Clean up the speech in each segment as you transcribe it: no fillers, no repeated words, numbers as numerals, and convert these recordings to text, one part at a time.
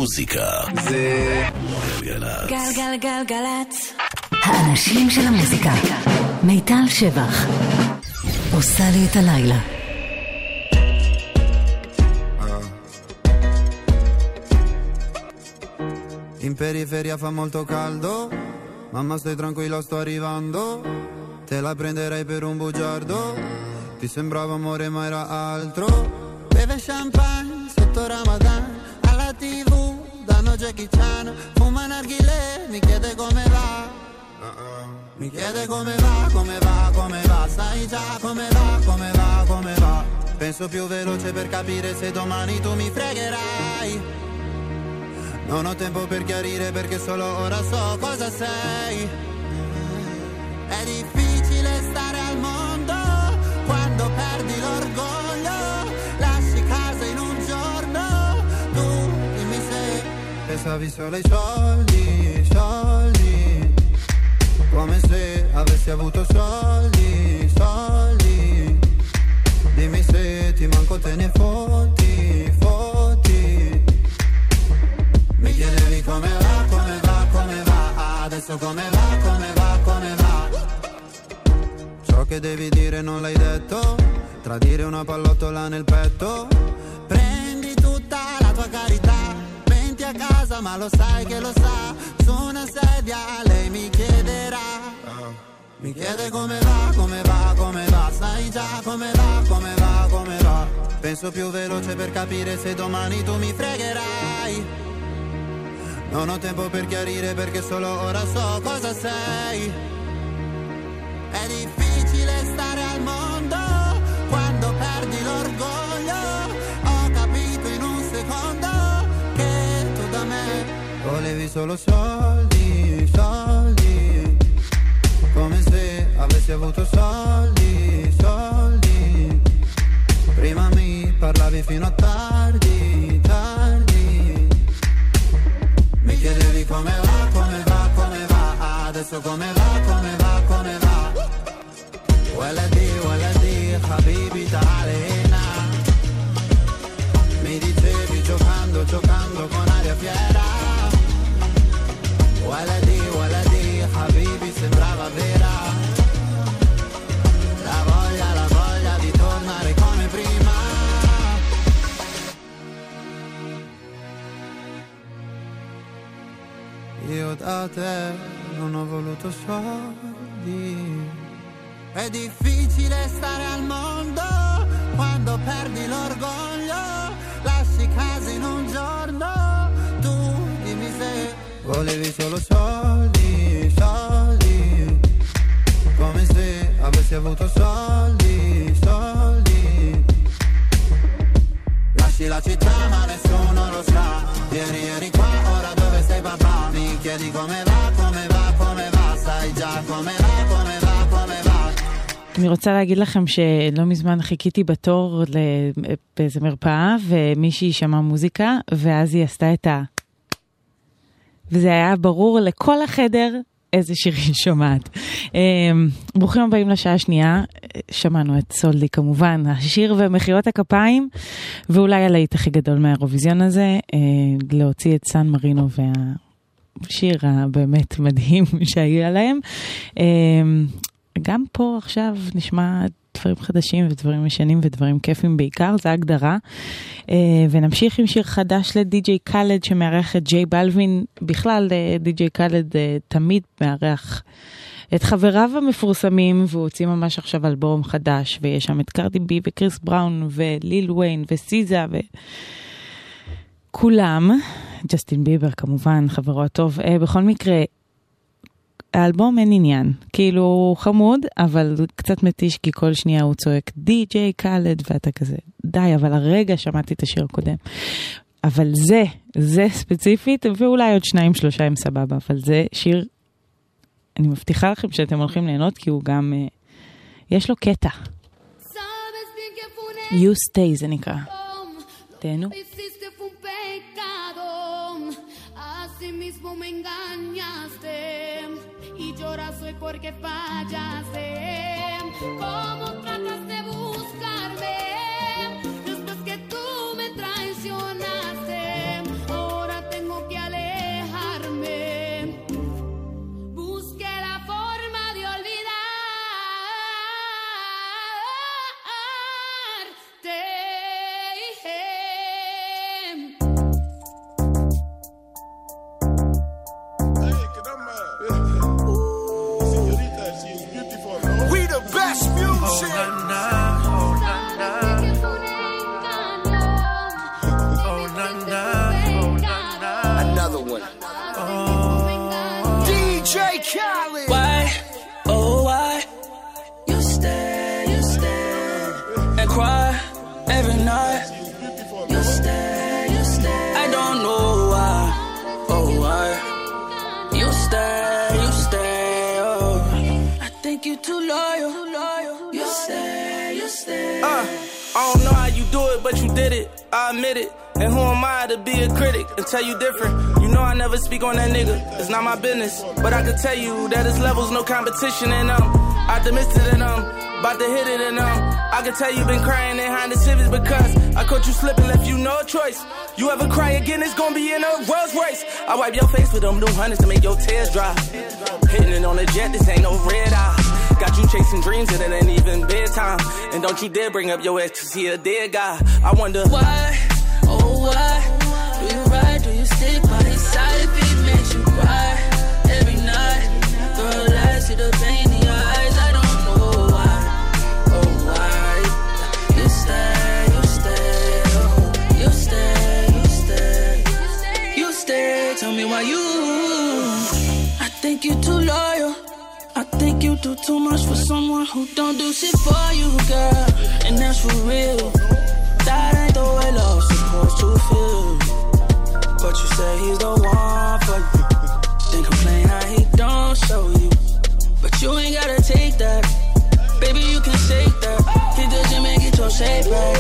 המוזיקה זה גלגלצ. גלגלגלגלצ. האנשים של המוזיקה. מיטל שבח עושה לי את הלילה. In periferia fa molto caldo, mamma stai tranquilla sto arrivando, te la prenderei per un bugiardo, ti sembrava amore ma era altro, beve champagne sotto Ramadan, alla TV danno Jackie Chan, fuma narghilè, mi chiede come va, mi chiede come va, come va, come va, sai già come va, come va, come va, penso più veloce per capire se domani tu mi fregherai. Non ho tempo per chiarire perché solo ora so cosa sei. È difficile stare al mondo quando perdi l'orgoglio. Lasci casa in un giorno, tu dimmi se pensavi solo ai soldi, soldi. Come se avessi avuto soldi, soldi. Dimmi se ti manco te ne fotti, fotti. Mi chiedevi come va, come va, come va. Adesso come va, come va, come va. Ciò che devi dire non l'hai detto. Tradire una pallottola nel petto. Prendi tutta la tua carità. Venti a casa ma lo sai che lo sa. Su una sedia lei mi chiederà. Mi chiede come va, come va, come va. Sai già come va, come va, come va. Penso più veloce per capire se domani tu mi fregherai. Non ho tempo per chiarire perché solo ora so cosa sei. È difficile stare al mondo quando perdi l'orgoglio. Ho capito in un secondo che tu da me volevi solo soldi, soldi. Come se avessi avuto soldi, soldi. Prima mi parlavi fino a tardi, tardi. Mi chiedevi come va, come va, come va. Adesso come va, come va, come va. Waladi, habibi ta'alena. Mi dicevi giocando, giocando con aria fiera. Waladi, habibi sembrava vera. La voglia di tornare come prima. Io da te non ho voluto soldi. È difficile stare al mondo quando perdi l'orgoglio. Lasci casa in un giorno, tu dimmi se volevi solo soldi, soldi. Come se avessi avuto soldi, soldi. Lasci la città ma nessuno lo sa. Ieri qua, ora dove sei papà? Mi chiedi come va, come va, come va. Sai già come va, come va, come va. אני רוצה להגיד לכם שלא מזמן חיכיתי בתור באיזה מרפאה, ומישהי שמעה מוזיקה, ואז היא עשתה את וזה היה ברור לכל החדר איזה שיר היא שומעת. ברוכים הבאים לשעה השנייה, שמענו את סולדי כמובן, השיר ומחיאות הכפיים, ואולי הלהיט הכי גדול מהאירוויזיון הזה, להוציא את סן מרינו והשיר הבאמת מדהים שהיה להם. גם פה עכשיו נשמע דברים חדשים ודברים משנים ודברים כיפים בעיקר, זה הגדרה. ונמשיך עם שיר חדש לדי-ג'יי קאלד שמארח את ג'יי בלווין. בכלל די-ג'יי קאלד תמיד מארח את חבריו המפורסמים, והוא הוציא ממש עכשיו אלבום חדש, ויש שם את קרדי בי וקריס בראון וליל וויין וסיזה וכולם, ג'סטין ביבר כמובן, חברו הטוב. בכל מקרה, האלבום אין עניין, כאילו חמוד, אבל קצת מתיש, כי כל שנייה הוא צועק די-ג'יי קאלד, ואתה כזה, די, אבל הרגע שמעתי את השיר הקודם. אבל זה ספציפית, ואולי עוד 2-3 הם סבבה, אבל זה שיר, אני מבטיחה לכם שאתם הולכים ליהנות, כי הוא גם, יש לו קטע. You Stay זה נקרא. תהנו. Soy porque fallaste. ¿Cómo tratas de buscarme después que tú me traicionaste? Ahora te Another one. DJ Khaled. Why, oh why, you stay and cry every night. You stay. I don't know why, oh why, you stay, oh. I think you too loyal. You stay. I don't know how you do it, but you did it. I admit it. And who am I to be a critic and tell you different? You know I never speak on that nigga. It's not my business. But I can tell you that his level's no competition, and optimistic, and about to hit it, and I can tell you been crying in Honda Civics because I caught you slipping, left you no choice. You ever cry again, it's gonna be in a Rolls Royce. I wipe your face with them new hundreds to make your tears dry. Hitting it on a jet, this ain't no red eye. Got you chasing dreams and it ain't even bedtime. And don't you dare bring up your ex, cause he a dead guy. I wonder why, oh why, do you ride, do you stick by his side if he makes you cry every night? Girl, I see the pain in your eyes, I don't know why, oh why, you stay, oh, you stay, tell me why you, I think you too loyal. I think you do too much for someone who don't do shit for you, girl. And that's for real. That ain't the way love's supposed to feel. But you say he's the one for you. Then complain how he don't show you. But you ain't gotta take that. Baby, you can shake that. Hit the gym and get your shape back.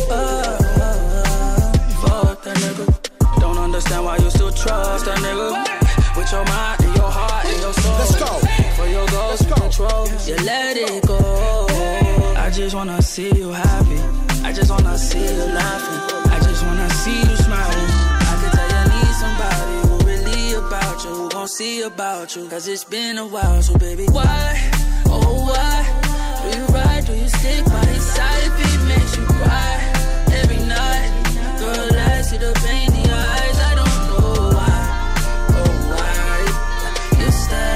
Fuck that nigga. Don't understand why you still trust that nigga. With your mind and your heart and your soul. Let's go. For your goals and control, you let it go. I just wanna see you happy. I just wanna see you laughing. I just wanna see you smiling. I can tell you need somebody who really about you, who gon' see about you. Cause it's been a while, so baby, why, oh why, do you ride, do you stick by his side if he makes you cry every night? Girl, I see the pain in your eyes, I don't know why, oh why, you stay.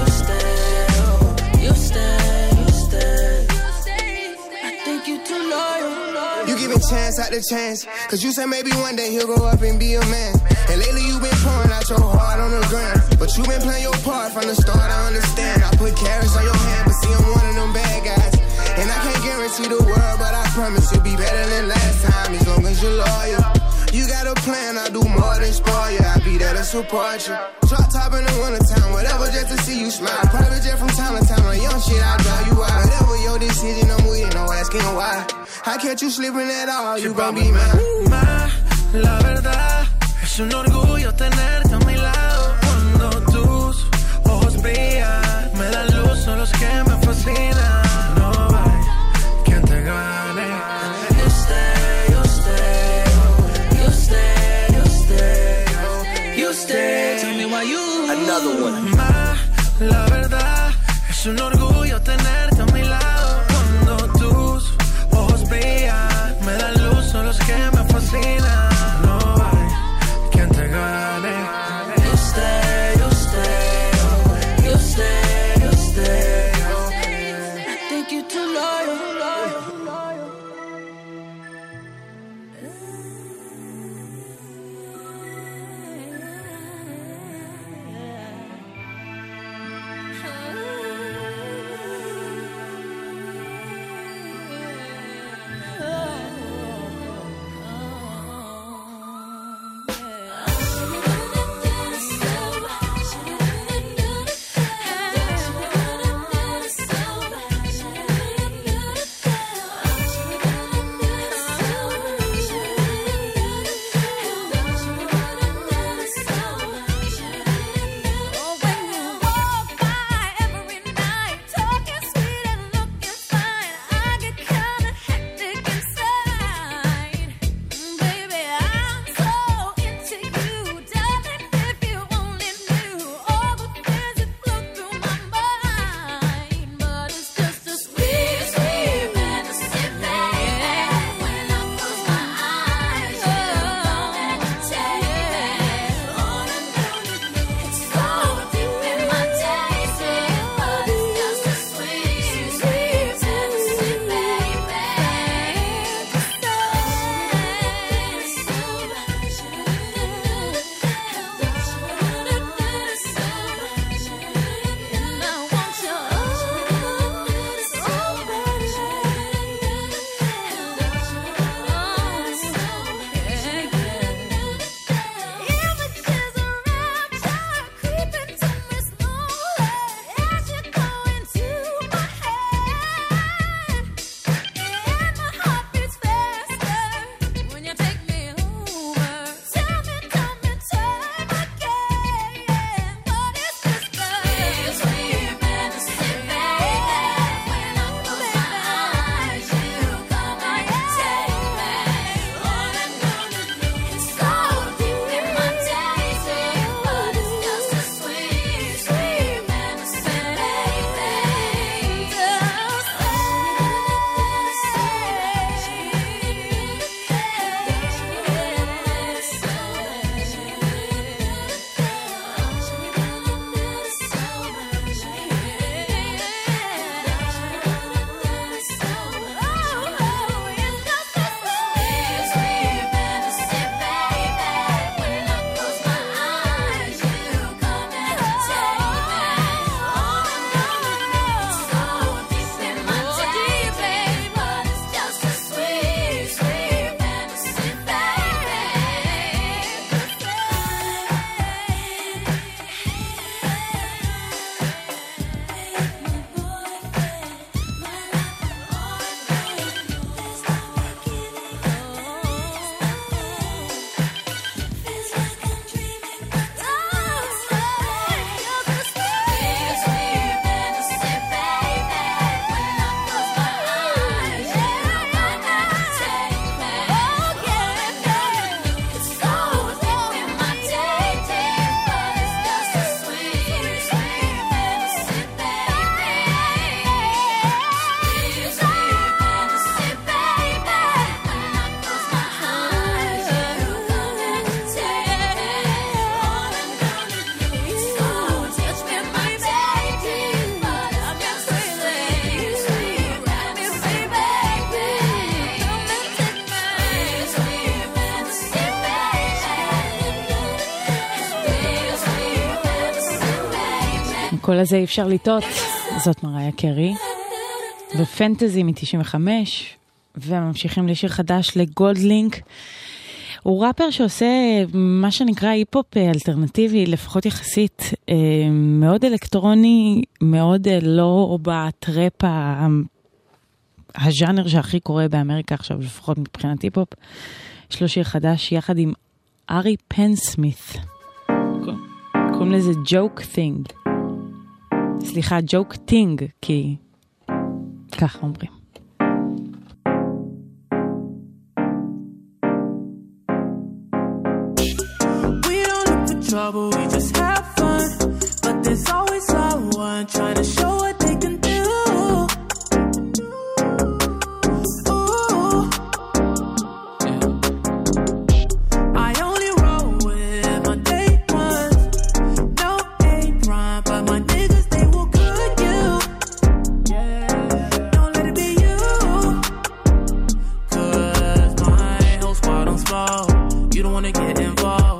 Chance after chance, cause you said maybe one day he'll go up and be a man. And lately you been pouring out your heart on the ground, but you been playing your part from the start, I understand. I put carrots on your hand, but see I'm one of them bad guys. And I can't guarantee the world, but I promise you'll be better than last time, as long as you're loyal. You got a plan, I'll do more than spoil you. I'll be there to support you. Drop top in the wintertime, whatever, just to see you smile. Private jet from time to time, on young shit, I'll drive you out. Whatever your decision, I'm with it, no asking why. I catch you slipping at all, you gon' be mine. La verdad, es un orgullo tenerte a mi lado. Cuando tus ojos brillan, me dan luz, son los que me fascinan. No hay quien te gane. You stay, tell me why you. Another one. La verdad, es un orgullo tenerte a mi lado. Cuando tus ojos brillan, me dan luz, son los que me fascinan. No hay quien te gane. You stay. I think you too loyal. כל הזה אי אפשר לטעות, זאת מריה קרי, ופנטזי מ-95, וממשיכים לשיר חדש לגולדלינק. הוא ראפר שעושה מה שנקרא היפ-הופ אלטרנטיבי, לפחות יחסית, מאוד אלקטרוני, מאוד לא בטראפ הז'אנר שהכי קורה באמריקה עכשיו, לפחות מבחינת היפ-הופ. יש לו שיר חדש יחד עם ארי פנסמית. קוראים לזה ג'וק טינג. סליחה, ג'וק טינג, כי ככה אומרים. Trouble, we just have fun, but there's always someone trying to show what they can do. Ooh. I only roll with my day ones. No hate crime, but my niggas, they will cook you. Don't let it be you, 'cause my whole squad on small. You don't wanna get involved.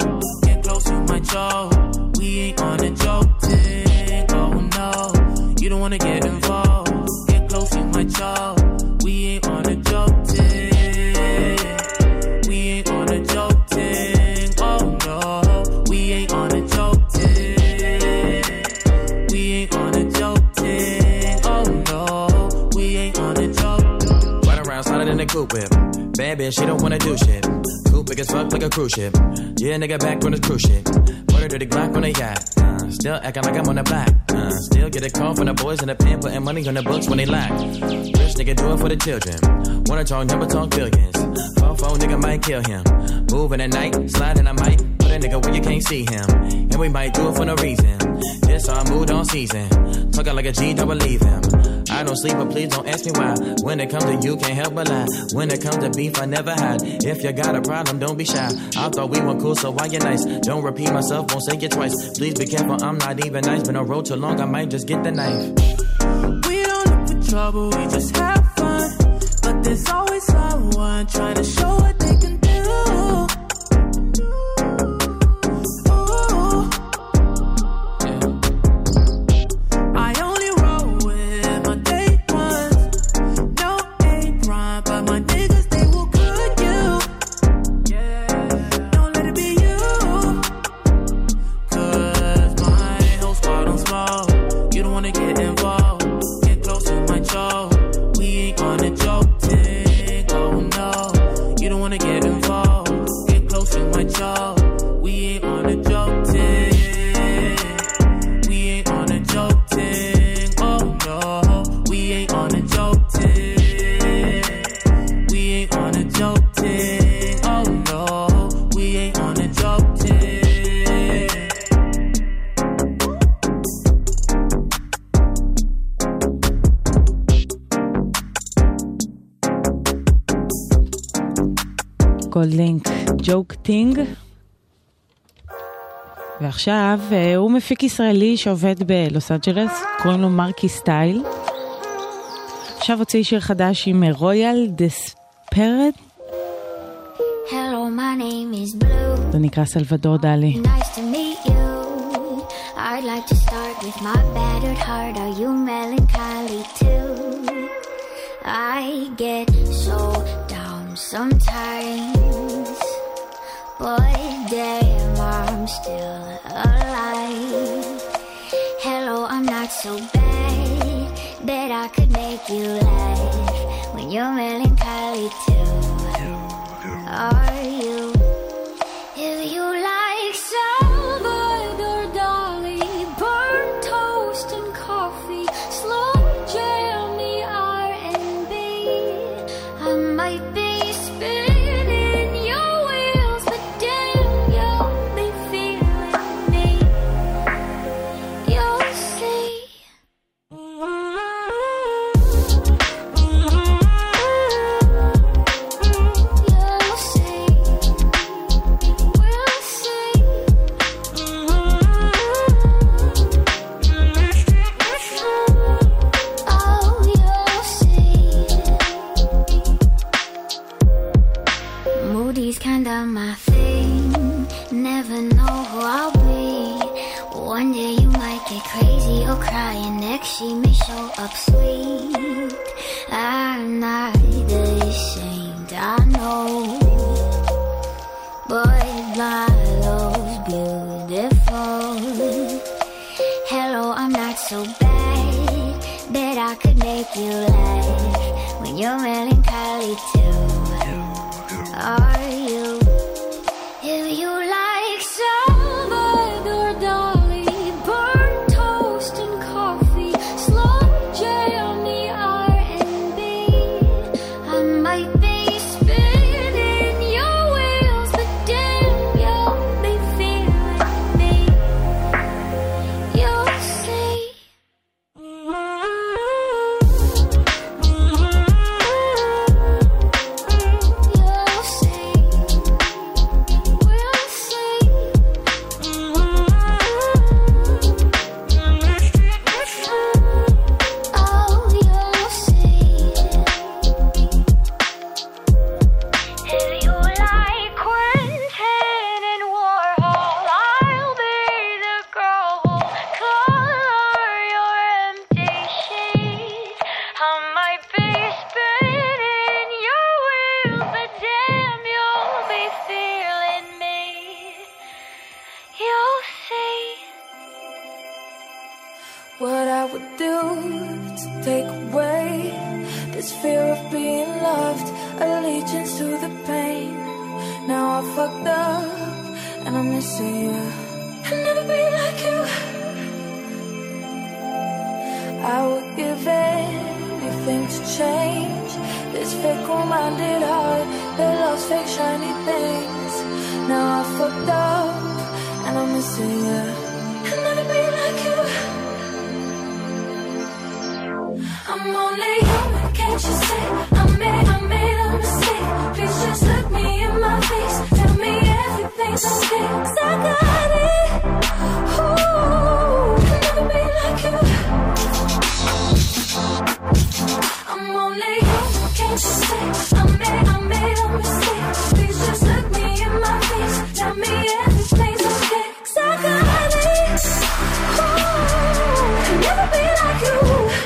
We ain't on a joke thing, oh no. You don't wanna get involved. Get close, you might choke. We ain't on a joke thing. We ain't on a joke thing, oh no. We ain't on a joke thing. We ain't on a joke thing, oh no. We ain't on a joke. Ride around, sliding in the coupe whip. Bad bitch, she don't wanna do shit. Coupe big as fuck like a cruise ship. Yeah, nigga back on this cruise shit. Put her dirty Glock on the yacht. Still acting like I'm on the block. Still get a call from the boys in the pen, putting money on the books when they lack. Rich nigga do it for the children. Wanna talk, never talk billions. Phone nigga might kill him. Moving at night, sliding I might. Put a nigga where you can't see him. And we might do it for no reason. This our mood on season. Talking like a G, don't believe him. I don't sleep, but please don't ask me why. When it comes to you, can't help but lie. When it comes to beef, I never hide. If you got a problem, don't be shy. I thought we were cool, so why you nice? Don't repeat myself, won't say it twice. Please be careful, I'm not even nice. Been on road too long, I might just get the knife. We don't look for trouble, we just have fun. But there's always someone trying to show what they can do. גולדלינק, ג'וק טינג. ועכשיו הוא מפיק ישראלי שעובד בלוס אנג'לס, קוראים לו מרקי סטייל. עכשיו הוציא שיר חדש עם רויאל דספרד. Hello, my name is Blue. זה נקרא סלבדור דלי. Nice to meet you. I'd like to start with my battered heart. Are you melancholy too? I get so down sometimes, but damn, I'm still alive. Hello, I'm not so bad. Bet I could make you laugh when you're melancholy too. Are you? If you like Salvador Dali, burnt toast and coffee, slow jam the R&B, I might be spinning your wheels, but damn, you'll be feeling me. You'll see. Moody's kinda my thing. Never know who I'll be. One day you might get crazy or cry, and next she may show up sweet. I'm not the saint, I know, but my love's beautiful. Hello, I'm not so bad, bet I could make you laugh when you're melancholy too. Are you? If you like Salvador Dali, burnt toast and coffee, slow J on the R&B, I might be spinning your wheels, but damn, you'll be feeling me. You'll see. You'll see. We'll see. Oh, you'll see. If you like Quentin and Warhol, I'll be the girl who'll color your empty sheets. I might be spinning your wheels, but damn, you'll be feeling me. You'll see. What I would do to take away this fear of being loved, allegiance to the pain. Now I fucked up and I'm missing you. I'll never be like you. I would give anything to change this fickle-minded heart that loves fake shiny things. Now I fucked up and I'm missing you. I'll never be like you. I'm only human, can't you see? I made a mistake. Please just look me in my face. Tell me everything's okay, 'cause I got it. Ooh, I'll never be like you. I'm only human, can't you see? I made a mistake. Please just look me in my face. Tell me everything's okay, 'cause I got it. Ooh, I'll never be like you.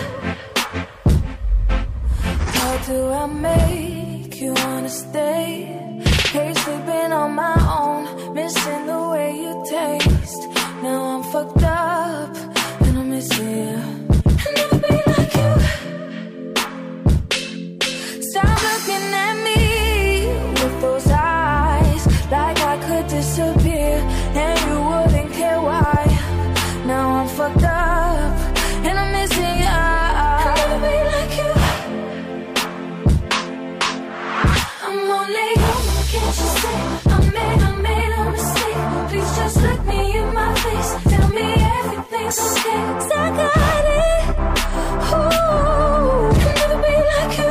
How do I make you wanna stay? Hate sleeping on my own, missing the way you taste. Now I'm fucked up and I'm missing you. I'll never be like you. Stop looking at me with those eyes, like I could disappear and you wouldn't care why. Now I'm fucked up and I'm missing you. I'll never be like you. I'm only human, can't you see? I made a mistake. Please just look me in my face. Tell me everything's okay, 'cause I got it. Ooh, I'll never be like you.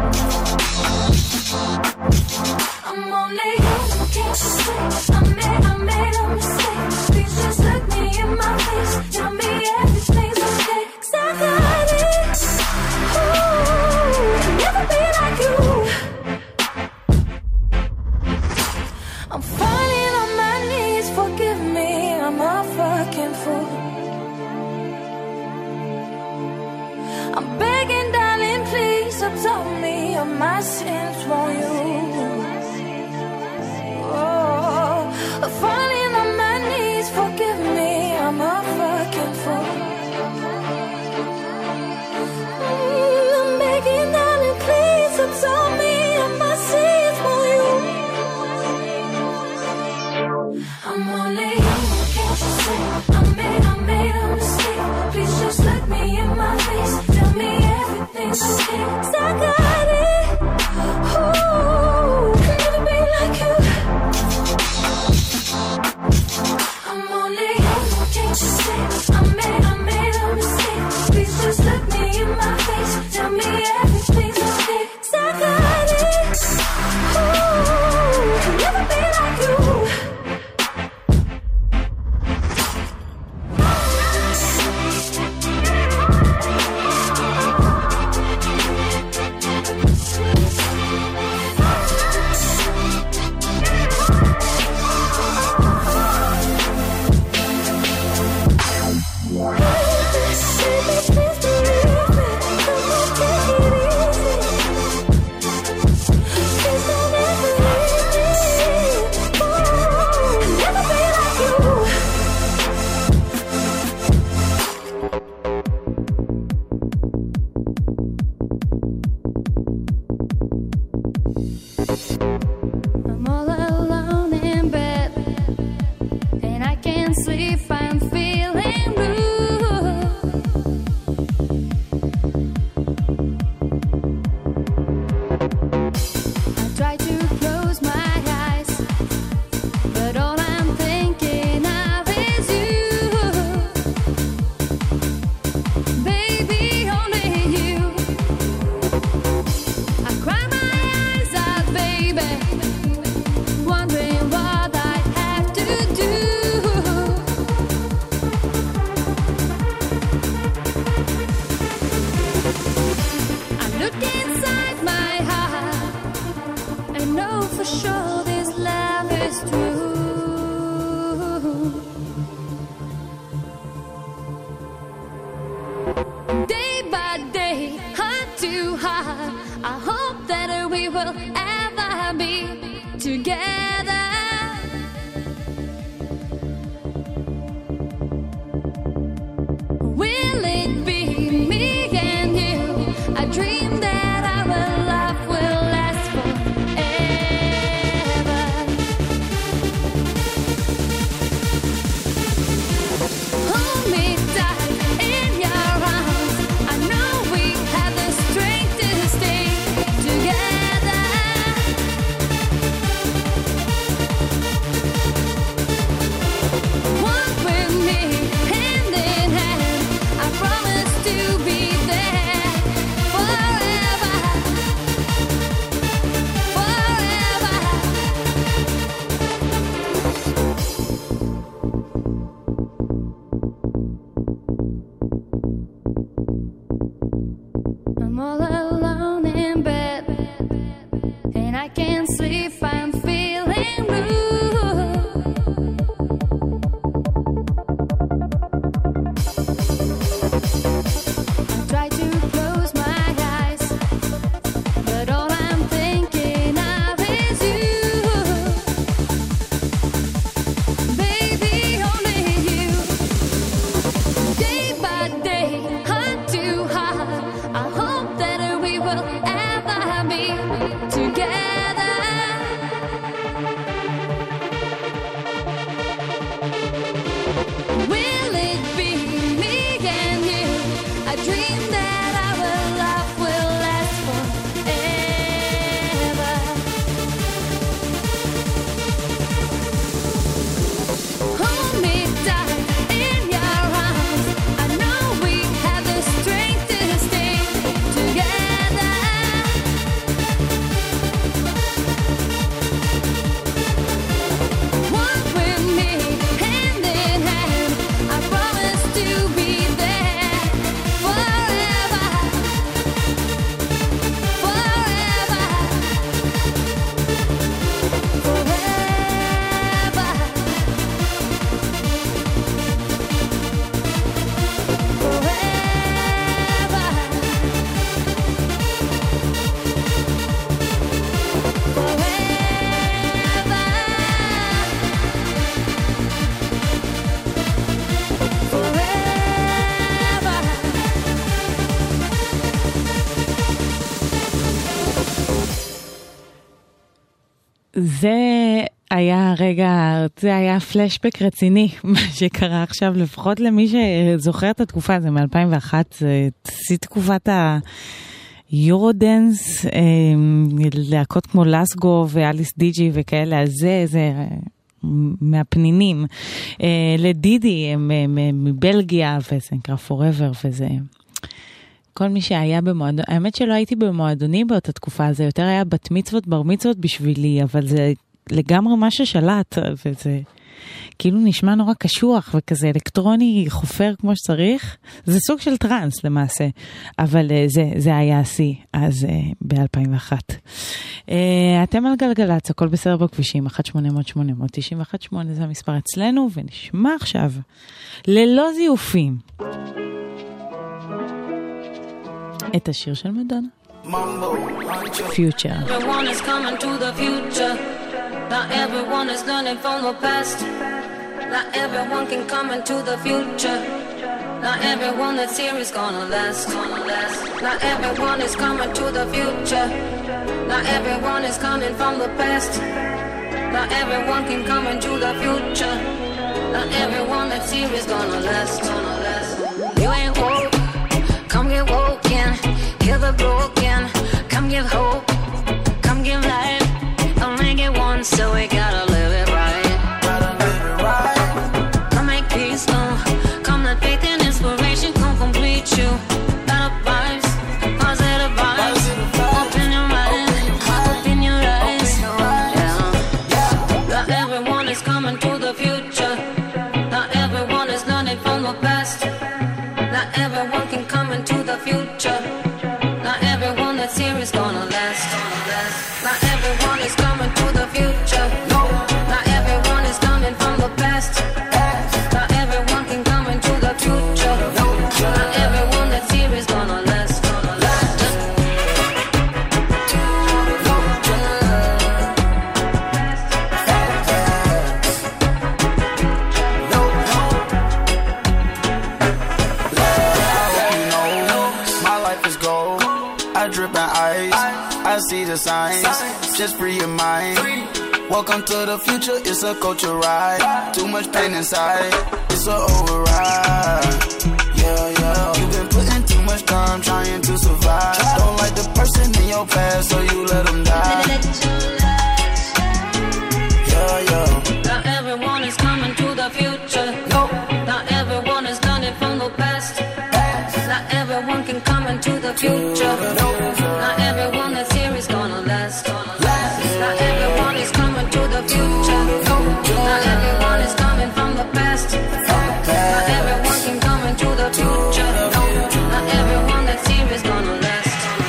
I'm only human, can't you see? I made a mistake. Please just look me in my face. Tell me everything's okay, 'cause I got it. Ooh, I'll never be like you. I'm falling on my knees, forgive me, I'm a fucking fool. I'm begging, darling, please absolve me of my sins, won't you? Oh, I'm falling on my knees, forgive me, I'm a fucking fool. I'm begging, darling, please absolve me of my sins, won't you? I'm only human, can't you see? I made a mistake. Please just look me in my face. Tell me everything's okay, 'cause I got it. Ooh, I'll never be like you. I'm only human, can't you see? I made a mistake. Please just look me in my face. Tell me everything's okay, 'cause I got it. Ooh, I'll never be like you. together. Will it be me and you? I dream that our love will last forever. Hold me tight in your arms. I know we have the strength to stay together. Walk with me hand in hand. I promise to be there forever, forever. I'm all alone in bed, and I can't sleep. I'm feeling blue. I try to close my eyes, but all I'm thinking of is you. Baby, only you. Day by day, heart to heart, I hope that we will ever be together. Will it be me and you? I dream that our love will last forever. Hold me tight in your arms. I know we have the strength to stay together. Walk with me hand in hand. I promise to be there forever, forever, זה היה רגע, זה היה פלשבק רציני, מה שקרה עכשיו, לפחות למי שזוכר את התקופה, זה מ-2001, זה תקופת היורודנס, להקות כמו לסגו ואליס דיג'י וכאלה, אז זה מהפנינים. לדידי, הם מבלגיה, וזה נקרא Forever, וזה... כל מי שהיה במועדון, האמת שלא הייתי במועדוני באותה תקופה, זה יותר היה בת מצוות, בר מצוות בשבילי, אבל זה לגמרי מה ששלט, וזה כאילו נשמע נורא קשוח, וכזה אלקטרוני חופר כמו שצריך, זה סוג של טרנס למעשה, אבל זה היה השיא, אז ב-2001. אתם על גלגלץ, הכל בסדר בכבישים, 1-800-891-8, זה המספר אצלנו, ונשמע עכשיו, ללא זיופים. את השיר של מדונה. Future. Everyone is coming to the future. Not everyone is learning from the past. Not everyone can come into the future. Not everyone that's here is gonna last. Not everyone is coming to the future. Not everyone is coming from the past. Not everyone can come into the future. Not everyone that's here is gonna last. You ain't woke, come get woken. Heal the broken, come give hope, come give life. I'll make it once, so we gotta live it right. Come make peace, come let faith and inspiration come complete you. Better vibes, positive vibes. Open your mind, open your eyes. Yeah. Not everyone is coming to the future. Not everyone is learning from the see the signs. Just free your mind. Welcome to the future, it's a culture ride. Too much pain inside, it's a override. Yeah, yeah. You've been putting too much time trying to survive. Don't like the person in your past, so you let them die. Yeah, yeah. Not everyone is coming to the future. Nope. Not everyone is learning from the past. Not everyone can come into the future. Not everyone that's here is gonna last. Not everyone is coming to the future. Not everyone is coming from the past. Not everyone can come into the future. Not everyone that's here is gonna last.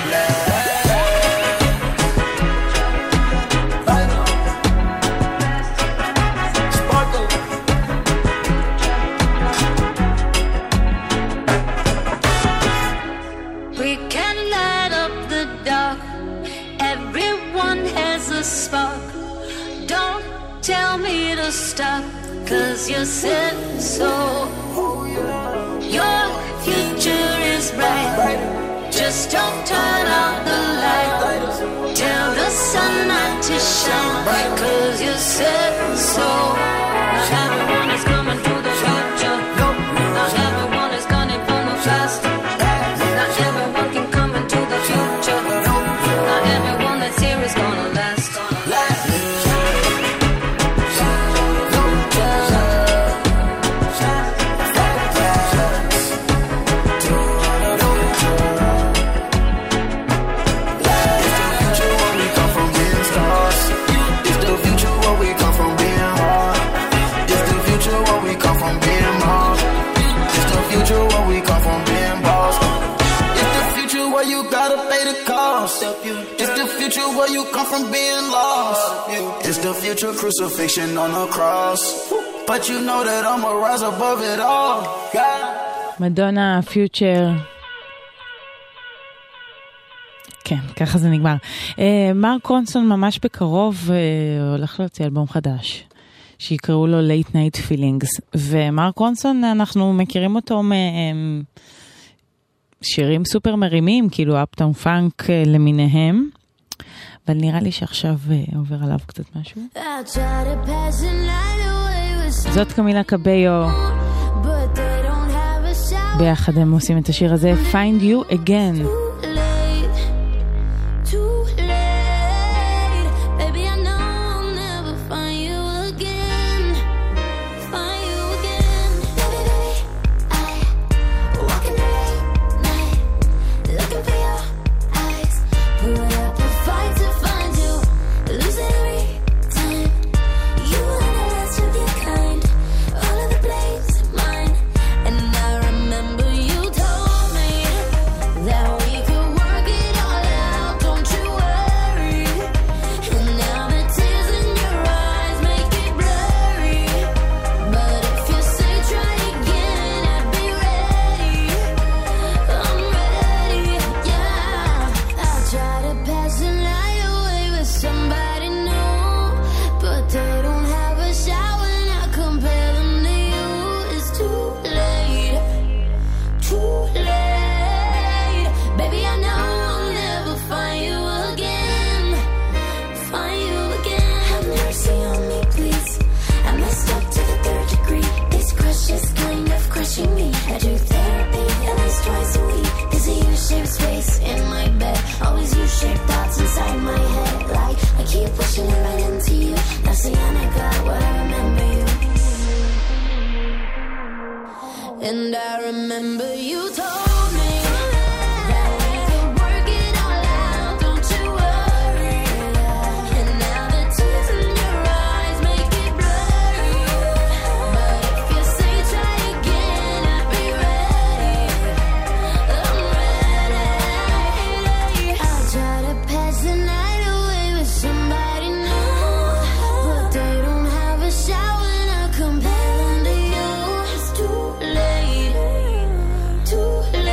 We can light up the dark. Everyone has a spark. Don't tell me to stop, 'cause you said so. Your future is bright. Just don't turn out the light. Tell the sun not to shine, 'cause you said so. Not everyone is coming to the future. Not everyone is gunning for the past. Not everyone can come into the future. Not everyone that's here is gonna last. You gotta pay the cost. It's the future where you come from being lost. It's the future crucifixion on the cross. But you know that I'ma rise above it all. מדונה, פיוטר. כן, ככה זה נגמר. מרק רונסון ממש בקרוב הולך להוציא אלבום חדש, שיקראו לו Late Night Feelings. ומרק רונסון, אנחנו מכירים אותו שירים סופר מרימים, כאילו אפטאון פאנק למיניהם, אבל נראה לי שעכשיו עובר עליו קצת משהו. זאת קמילה קביו, ביחד הם עושים את השיר הזה, Find You Again. And I remember you told me that we could work it all out, don't you worry. And now the tears in your eyes make it blurry. But if you say try again, I'll be ready. I'm ready. I'll try to pass the night away with somebody new, but they don't have a shower and I compare them to you. It's too late. Too late.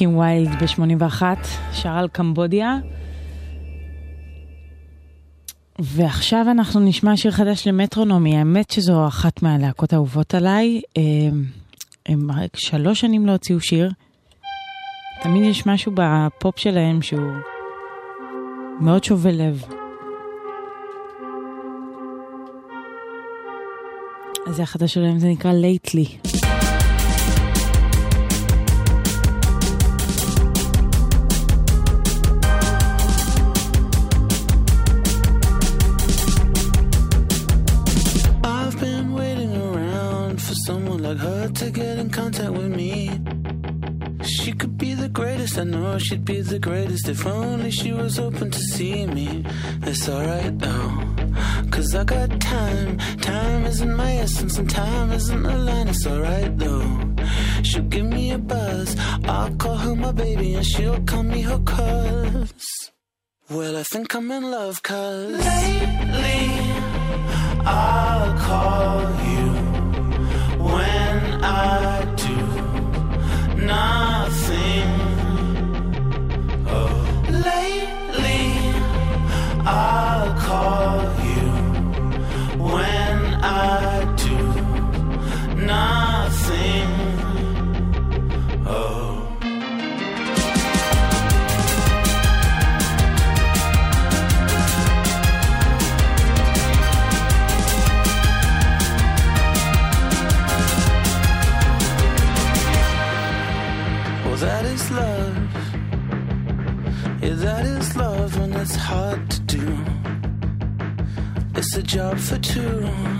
קים ויילד ב-81, שר על קמבודיה. ועכשיו אנחנו נשמע שיר חדש למטרונומי. האמת שזו אחת מהלהקות האהובות עליי. הם 3 שנים לא הוציאו שיר. תמיד יש משהו בפופ שלהם שהוא מאוד שובה לב. אז זה החדש שלהם, זה נקרא Lately. Someone like her to get in contact with me. She could be the greatest, I know she'd be the greatest if only she was open to see me. It's alright though, cause I got time. Time isn't my essence and time isn't a line. It's alright though, she'll give me a buzz. I'll call her my baby and she'll call me her cuz. Well, I think I'm in love cause lately I'll call you when I do nothing. Oh, lately I'll call you when I do nothing. Oh. That is love. Yeah, that is love when it's hard to do. It's a job for two.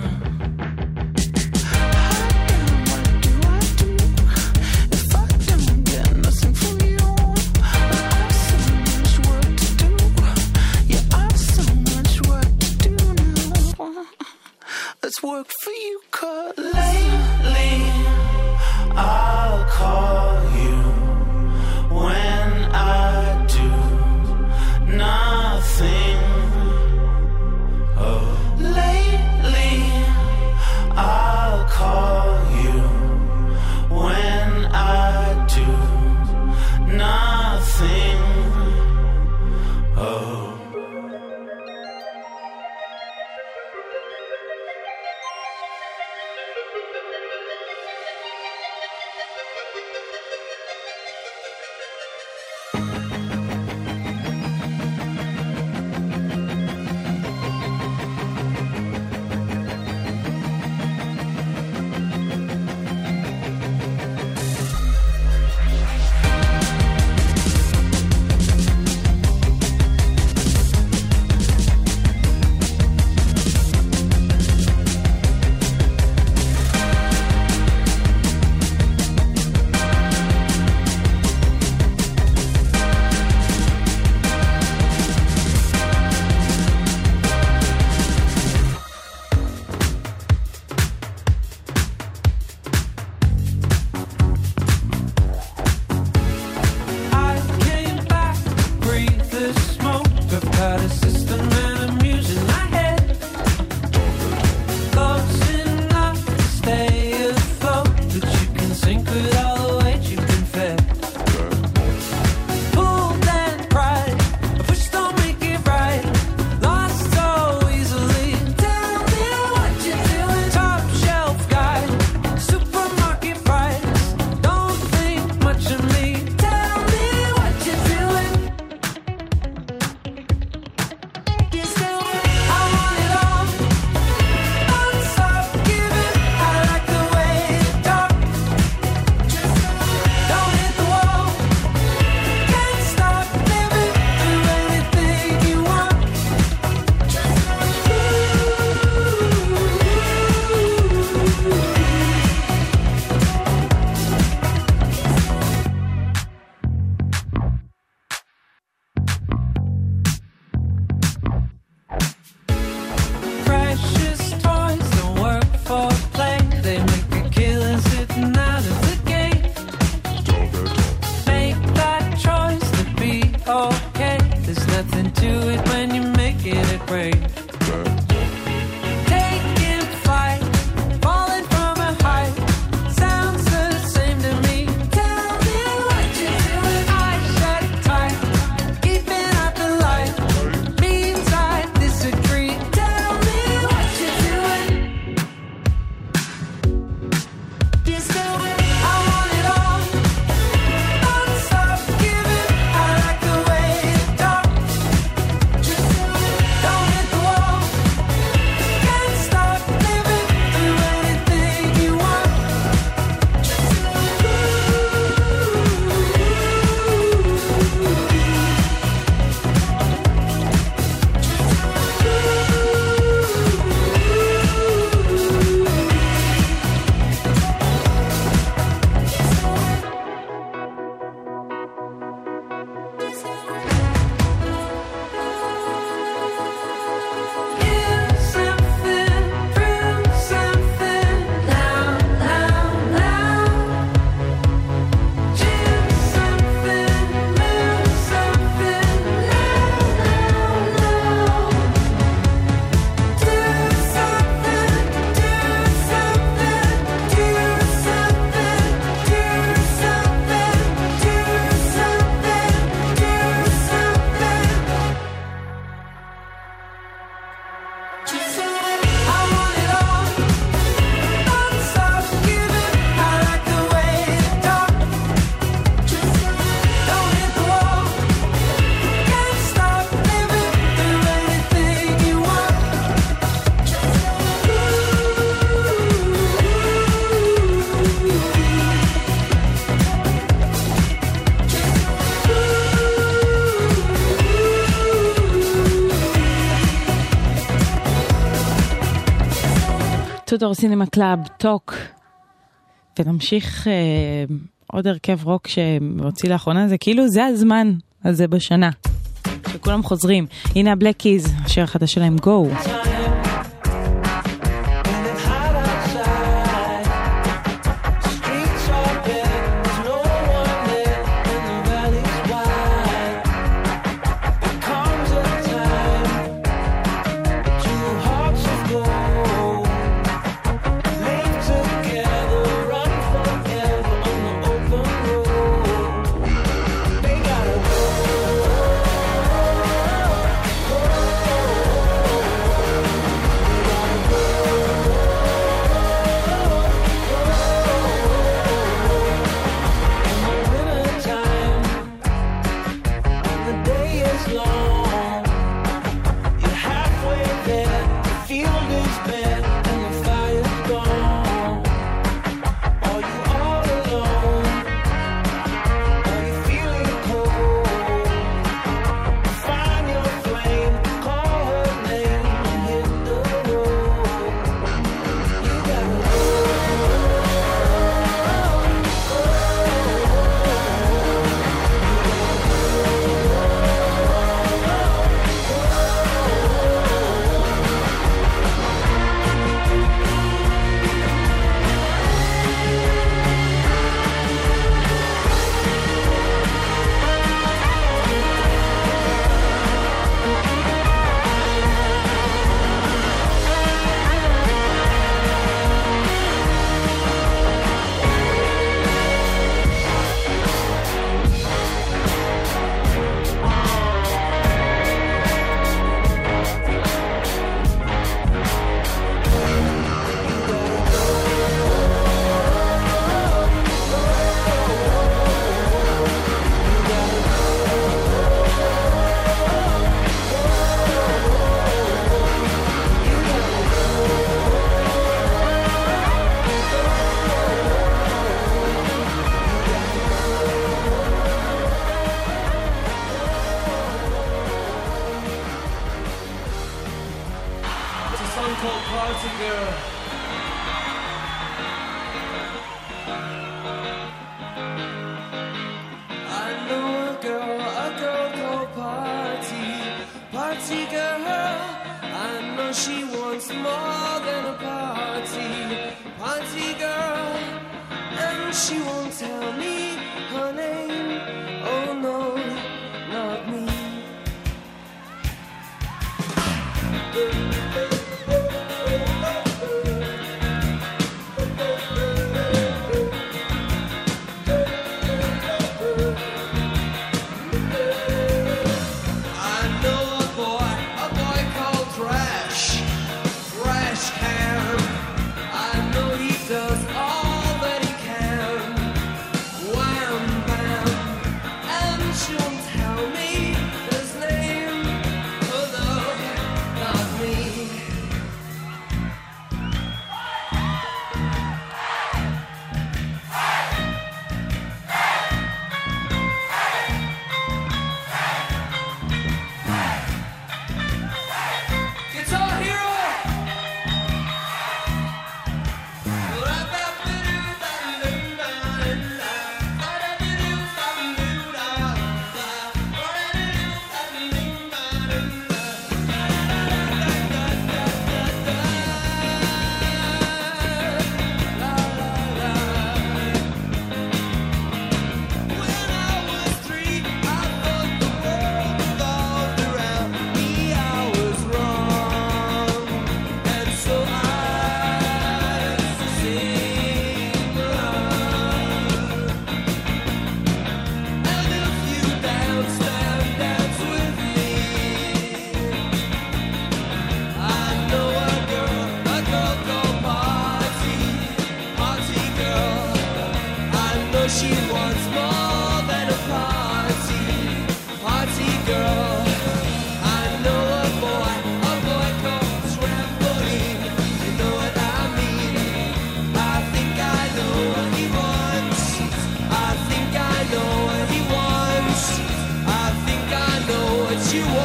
What do I do if I don't get nothing from you? I've so much work to do. Yeah, I've so much work to do now. Let's work for you, cause lately I'll call you when I do nothing. Oh, lately Matador Cinema Club, טוק, ונמשיך עוד הרכב רוק שמוציא לאחרונה, זה כאילו זה הזמן הזה בשנה, שכולם חוזרים. הנה הבלק קיז, השיר החדש שלהם, גו.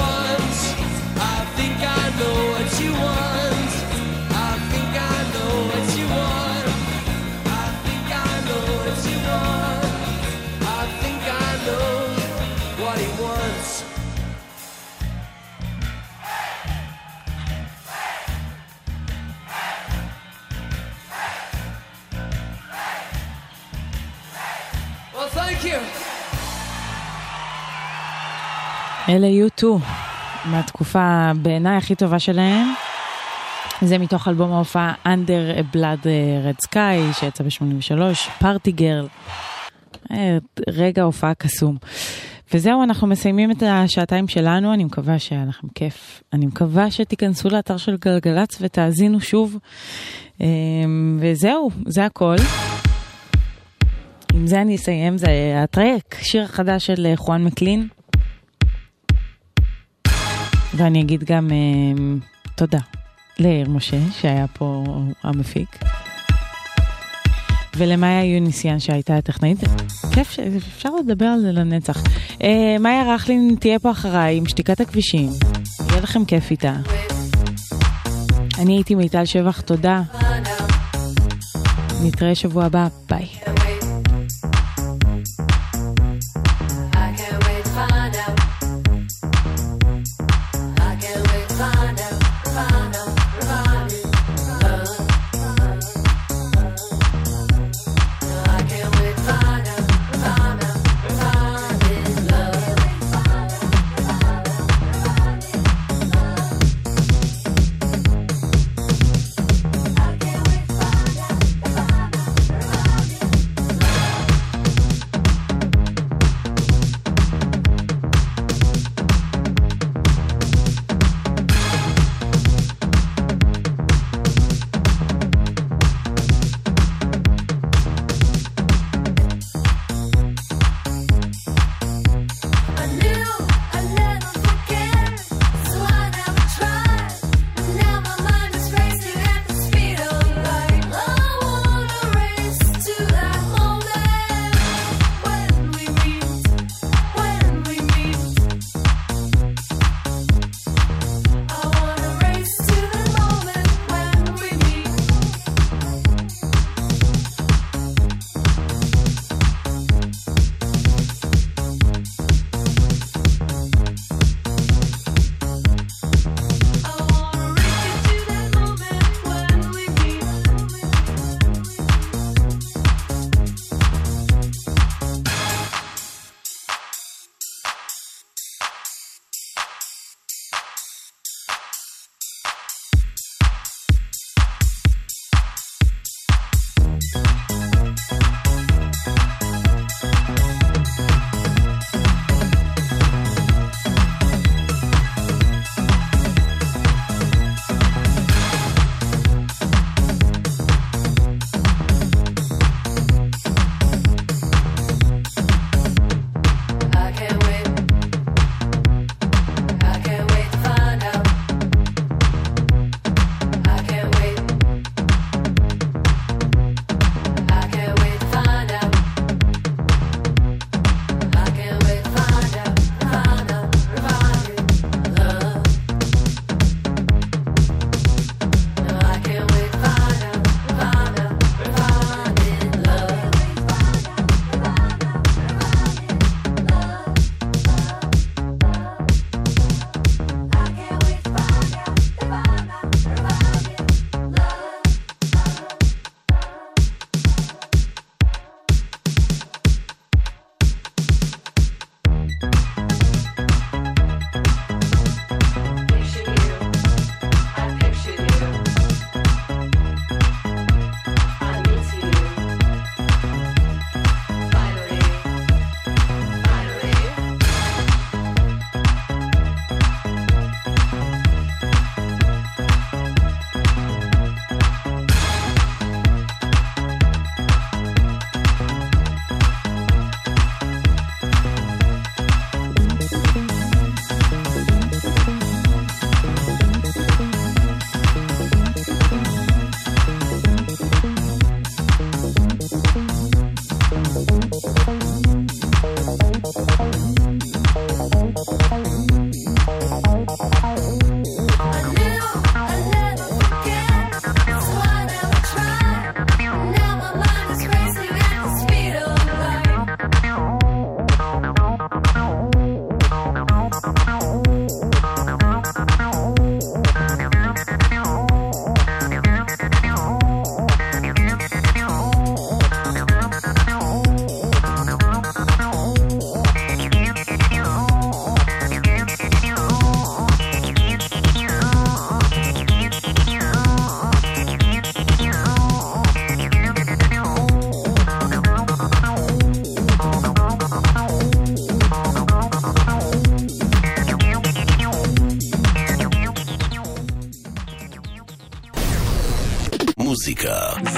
I think I know what you want. I think I know thank you. אלה U2, מהתקופה בעיניי הכי טובה שלהם. זה מתוך אלבום ההופעה Under a Blood Red Sky, שיצא ב-83, Party Girl. רגע הופעה קסום. וזהו, אנחנו מסיימים את השעתיים שלנו, אני מקווה שהיה לכם כיף. אני מקווה שתיכנסו לאתר של גלגלץ ותאזינו שוב. וזהו, זה הכל. עם זה אני אסיים, זה הטרק, שיר החדש של חואן מקלין. ואני אגיד גם תודה לאיר משה שהיה פה המפיק, ולמאיה יוניסיאן שהייתה הטכנאית. כיף שאפשר לדבר על זה לנצח. מאיה רחלין תהיה פה אחריי עם שתיקת הכבישים, יהיה לכם כיף איתה. אני הייתי מיטל שבח, תודה, נתראה שבוע הבא, ביי.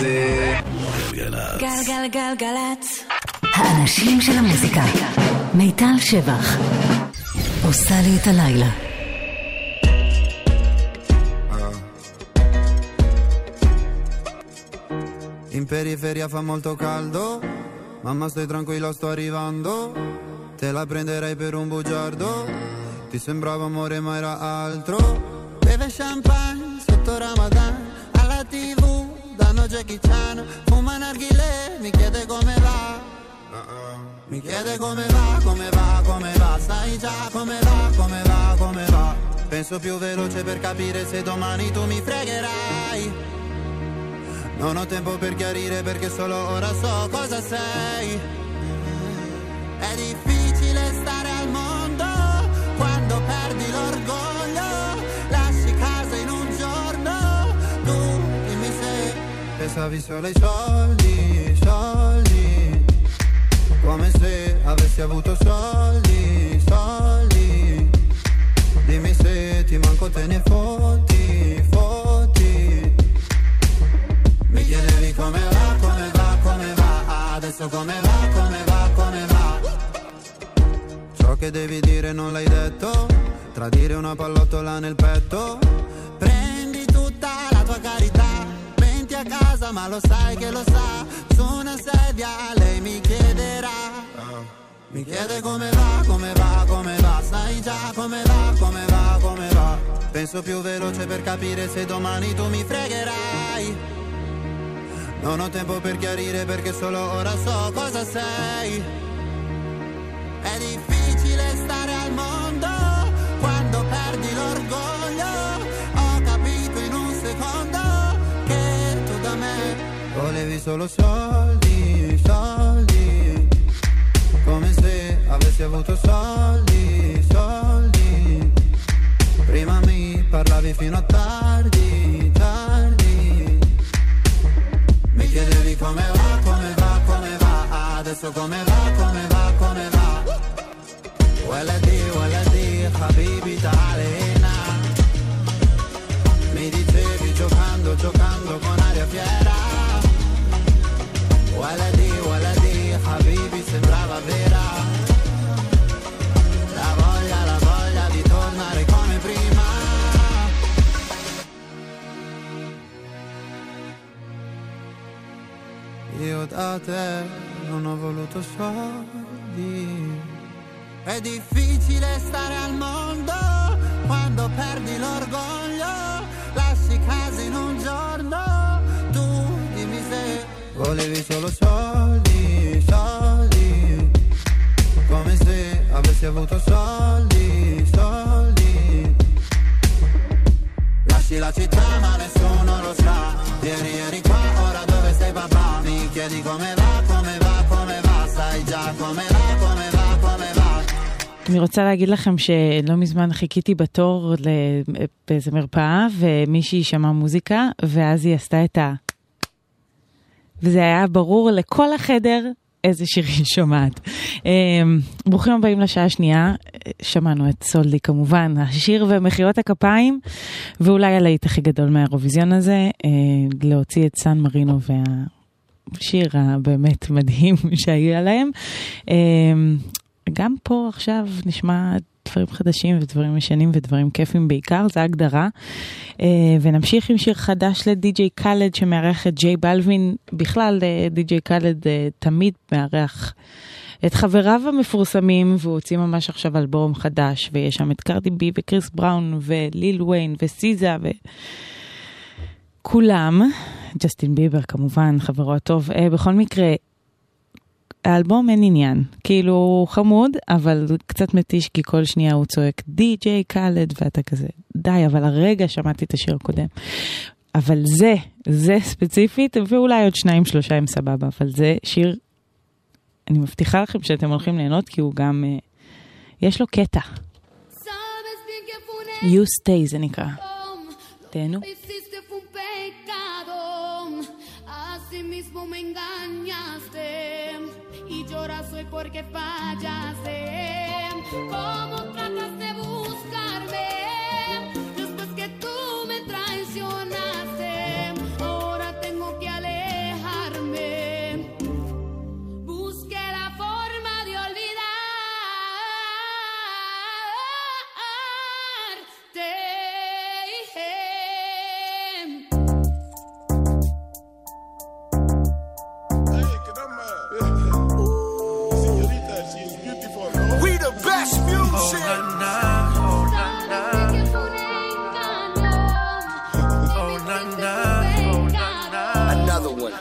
זה גלגלצ. גלגלגלגלצ. האנשים של המוזיקה. מיטל שבח. עושה לי את הלילה. In periferia fa molto caldo, mamma stai tranquilla sto arrivando, te la prenderei per un bugiardo, ti sembrava amore ma era altro, beve champagne sotto Ramadan, alla TV danno Jackie Chan, fuma narghilè, mi chiede come va, mi chiede come va, come va, come va, sai già come va, come va, come va, penso più veloce per capire se domani tu mi fregherai. Non ho tempo per chiarire perché solo ora so cosa sei. È difficile stare al mondo quando perdi l'orgoglio. Lasci casa in un giorno. Tu dimmi se pensavi solo ai soldi, soldi. Come se avessi avuto soldi, soldi. Dimmi se ti manco te ne fotti, fotti. Mi chiedevi come va, come va, come va, adesso come va, come va, come va. Ciò che devi dire non l'hai detto, tradire una pallottola nel petto. Prendi tutta la tua carità, venti a casa ma lo sai che lo sa. Su una sedia lei mi chiederà, mi chiede come va, come va, come va. Sai già come va, come va, come va. Penso più veloce per capire se domani tu mi fregherai. Non ho tempo per chiarire perché solo ora so cosa sei. È difficile stare al mondo quando perdi l'orgoglio. Ho capito in un secondo che tu da me volevi solo soldi, soldi. Come se avessi avuto soldi, soldi. Prima mi parlavi fino a tardi, tardi. Mi chiedevi come va, come va, come va, adesso come va, come va, come va. Waladi, habibi ta'alena. Mi dicevi giocando, giocando con aria fiera. Waladi, habibi sembrava vera. La voglia di tornare come prima. Io da te non ho voluto soldi. È difficile stare al mondo quando perdi l'orgoglio. Lasci casa in un giorno. Tu dimmi se volevi solo soldi, soldi. Come se avessi avuto soldi, soldi. Lasci la città ma nessuno lo sa. Ieri qua, ora dove sei papà? Mi chiedi come va, come va, come va. Sai già come va, come va, come va. אני רוצה להגיד לכם שלא מזמן חיכיתי בתור באיזה מרפאה, ומישהי שמעה מוזיקה, ואז היא עשתה את וזה היה ברור לכל החדר איזה שיר היא שומעת. ברוכים הבאים לשעה השנייה, שמענו את סולדי כמובן, השיר ומחיאות הכפיים, ואולי הלהיט הכי גדול מהאירוויזיון הזה, להוציא את סן מרינו והשיר הבאמת מדהים שהיה להם. גם פה עכשיו נשמע דברים חדשים ודברים משנים ודברים כיפים בעיקר, זה ההגדרה. ונמשיך עם שיר חדש לדי-ג'יי קאלד שמארח את ג'יי בלווין. בכלל די-ג'יי קאלד תמיד מארח את חבריו המפורסמים, והוא הוציא ממש עכשיו אלבום חדש, ויש שם את קרדי בי וקריס בראון וליל וויין וסיזה וכולם, ג'סטין ביבר כמובן, חברו הטוב. בכל מקרה, האלבום אין עניין, כאילו חמוד, אבל קצת מתיש, כי כל שנייה הוא צועק די-ג'יי קאלד, ואתה כזה, די, אבל הרגע שמעתי את השיר הקודם. אבל זה ספציפית, ואולי עוד 2-3 הם סבבה, אבל זה שיר, אני מבטיחה לכם שאתם הולכים ליהנות, כי הוא גם, יש לו קטע. You Stay זה נקרא. תהנו. Mismo me engañaste y lloras hoy porque fallaste. ¿Cómo tratas de buscarme después que tú me traicionaste? Ahora tengo que alejar. We the best music. Another one.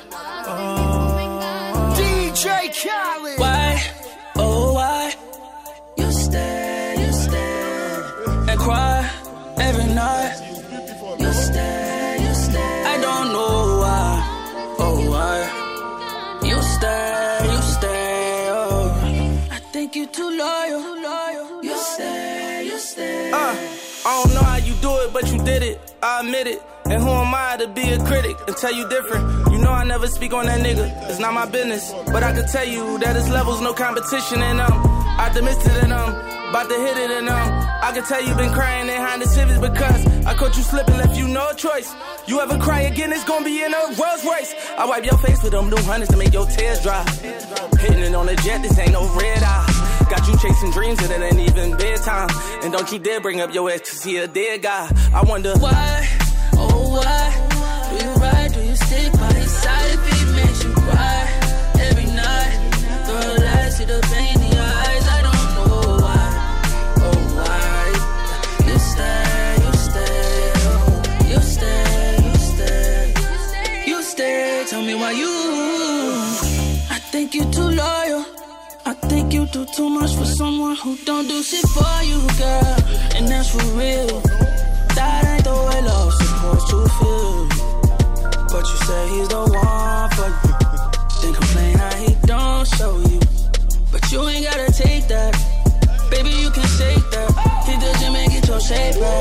DJ Khaled. Why, oh why, you stay and cry every night. You stay, I don't know why, oh why, you stay, oh. I think you too loyal, you stay. I don't know how you do it, but you did it, I admit it. And who am I to be a critic and tell you different? You know I never speak on that nigga, it's not my business. But I can tell you that his level's no competition, and I'm optimistic, and I'm about to hit it, and I can tell you been crying behind the civics because I caught you slipping, left you no choice. You ever cry again, it's gonna be in a Rolls Royce. I wipe your face with them new hundreds to make your tears dry. Hitting it on the jet, this ain't no red eye. Got you chasing dreams and it ain't even bedtime. And don't you dare bring up your ex, cause he a dead guy. I wonder why, oh why, do you ride, do you stick by his side if he makes you cry every night? Girl, I see the pain in your eyes, I don't know why, oh why. You stay, tell me why you. I think you too loyal, I think you do too much for someone who don't do shit for you, girl. And that's for real. That ain't the way love's supposed to feel. But you say he's the one for you. Then complain how he don't show you. But you ain't gotta take that. Baby, you can shake that. Hit the gym and get your shape back.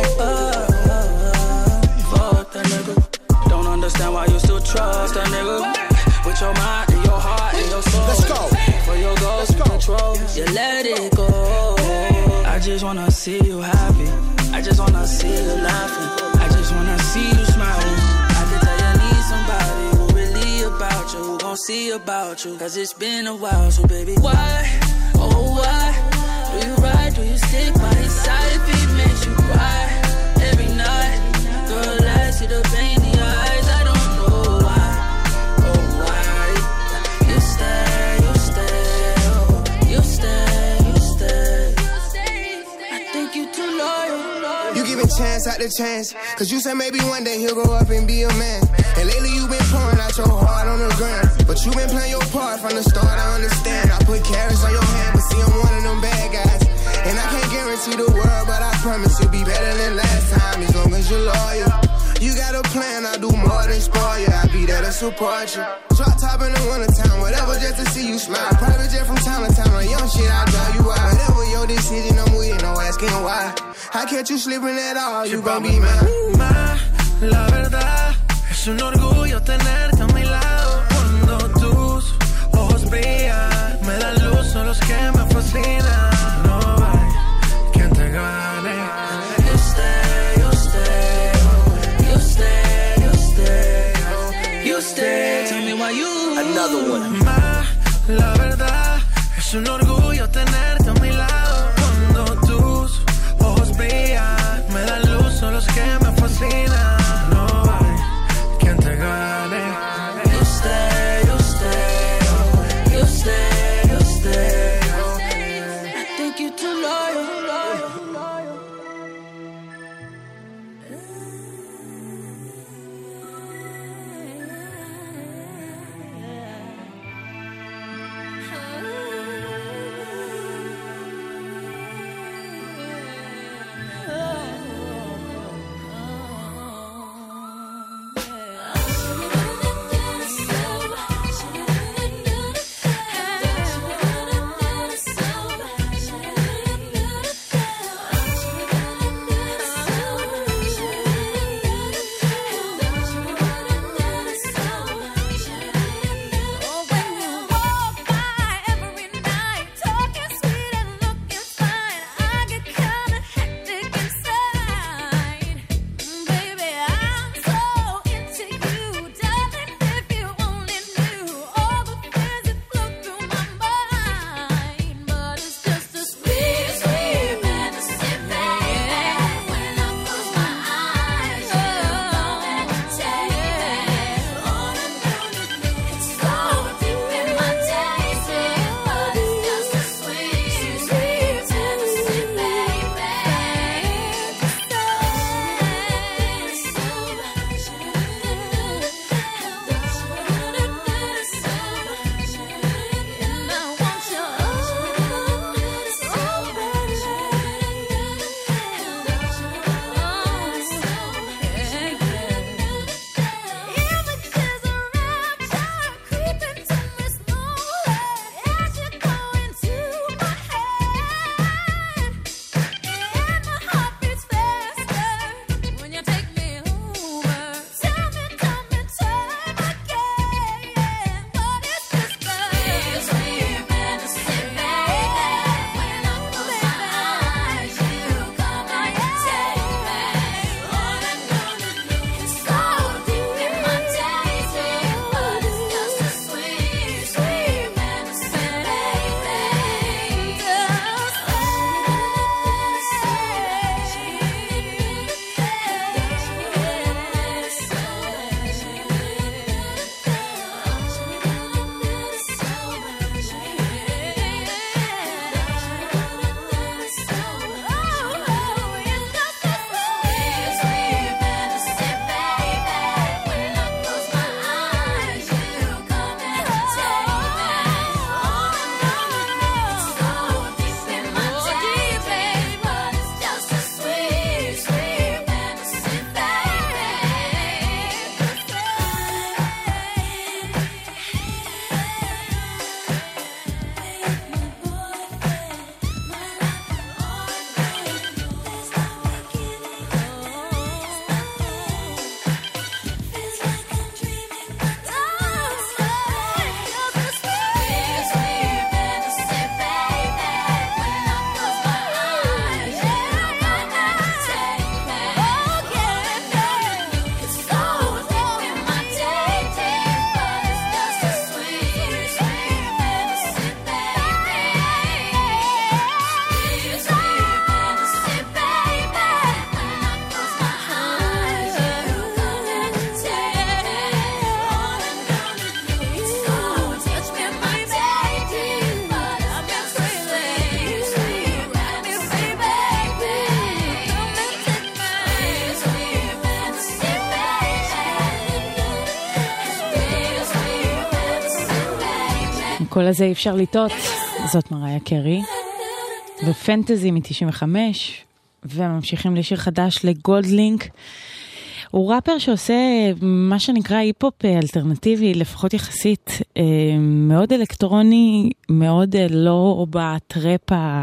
Fuck that nigga. Don't understand why you still trust that nigga. With your mind and your heart and your soul. Let's go. For your goals and control, you let it go. I just wanna see you happy. I just wanna see you laughing. I just wanna see you smiling. I can tell you need somebody who really about you, who gon' see about you. Cause it's been a while, so baby, why, oh why, do you ride, do you stick by his side if he makes you cry every night? Girl, I see the pain in your eyes, I don't know why, oh why. You stay, oh, you stay. I think you too loyal. You giving chance after chance, cause you said maybe one day he'll grow up and be a man. And lately you been pouring out your heart on the ground, but you been playing your part from the start, I understand. I put carrots on your hand, but see I'm one of them bad guys. And I can't guarantee the world, but I promise you'll be better than last time, as long as you're loyal. You got a plan, I'll do more than spoil you, I'll be there to support you. Drop top in the wintertime, whatever, just to see you smile. Private jet from time to time, on young shit, I'll drive you out. Whatever your decision, I'm with, no asking why. I catch you slipping at all, you gon' be mine. La verdad, es un orgullo tenerte a mi lado. Cuando tus ojos brillan, me dan luz, son los que me fascinan. No hay quien te gane. You stay, you stay. Tell me why you. Another one. La verdad, es un orgullo tenerte a mi lado. Cuando tus ojos brillan, me dan luz, son los que me fascinan. No hay quien te gane. You stay, you stay. I think you too loyal. כל הזה אי אפשר לטעות, זאת מריה קרי, ופנטזי מ-95, וממשיכים לשיר חדש לגולדלינק. הוא ראפר שעושה מה שנקרא היפ-הופ אלטרנטיבי, לפחות יחסית, מאוד אלקטרוני, מאוד לא בטראפ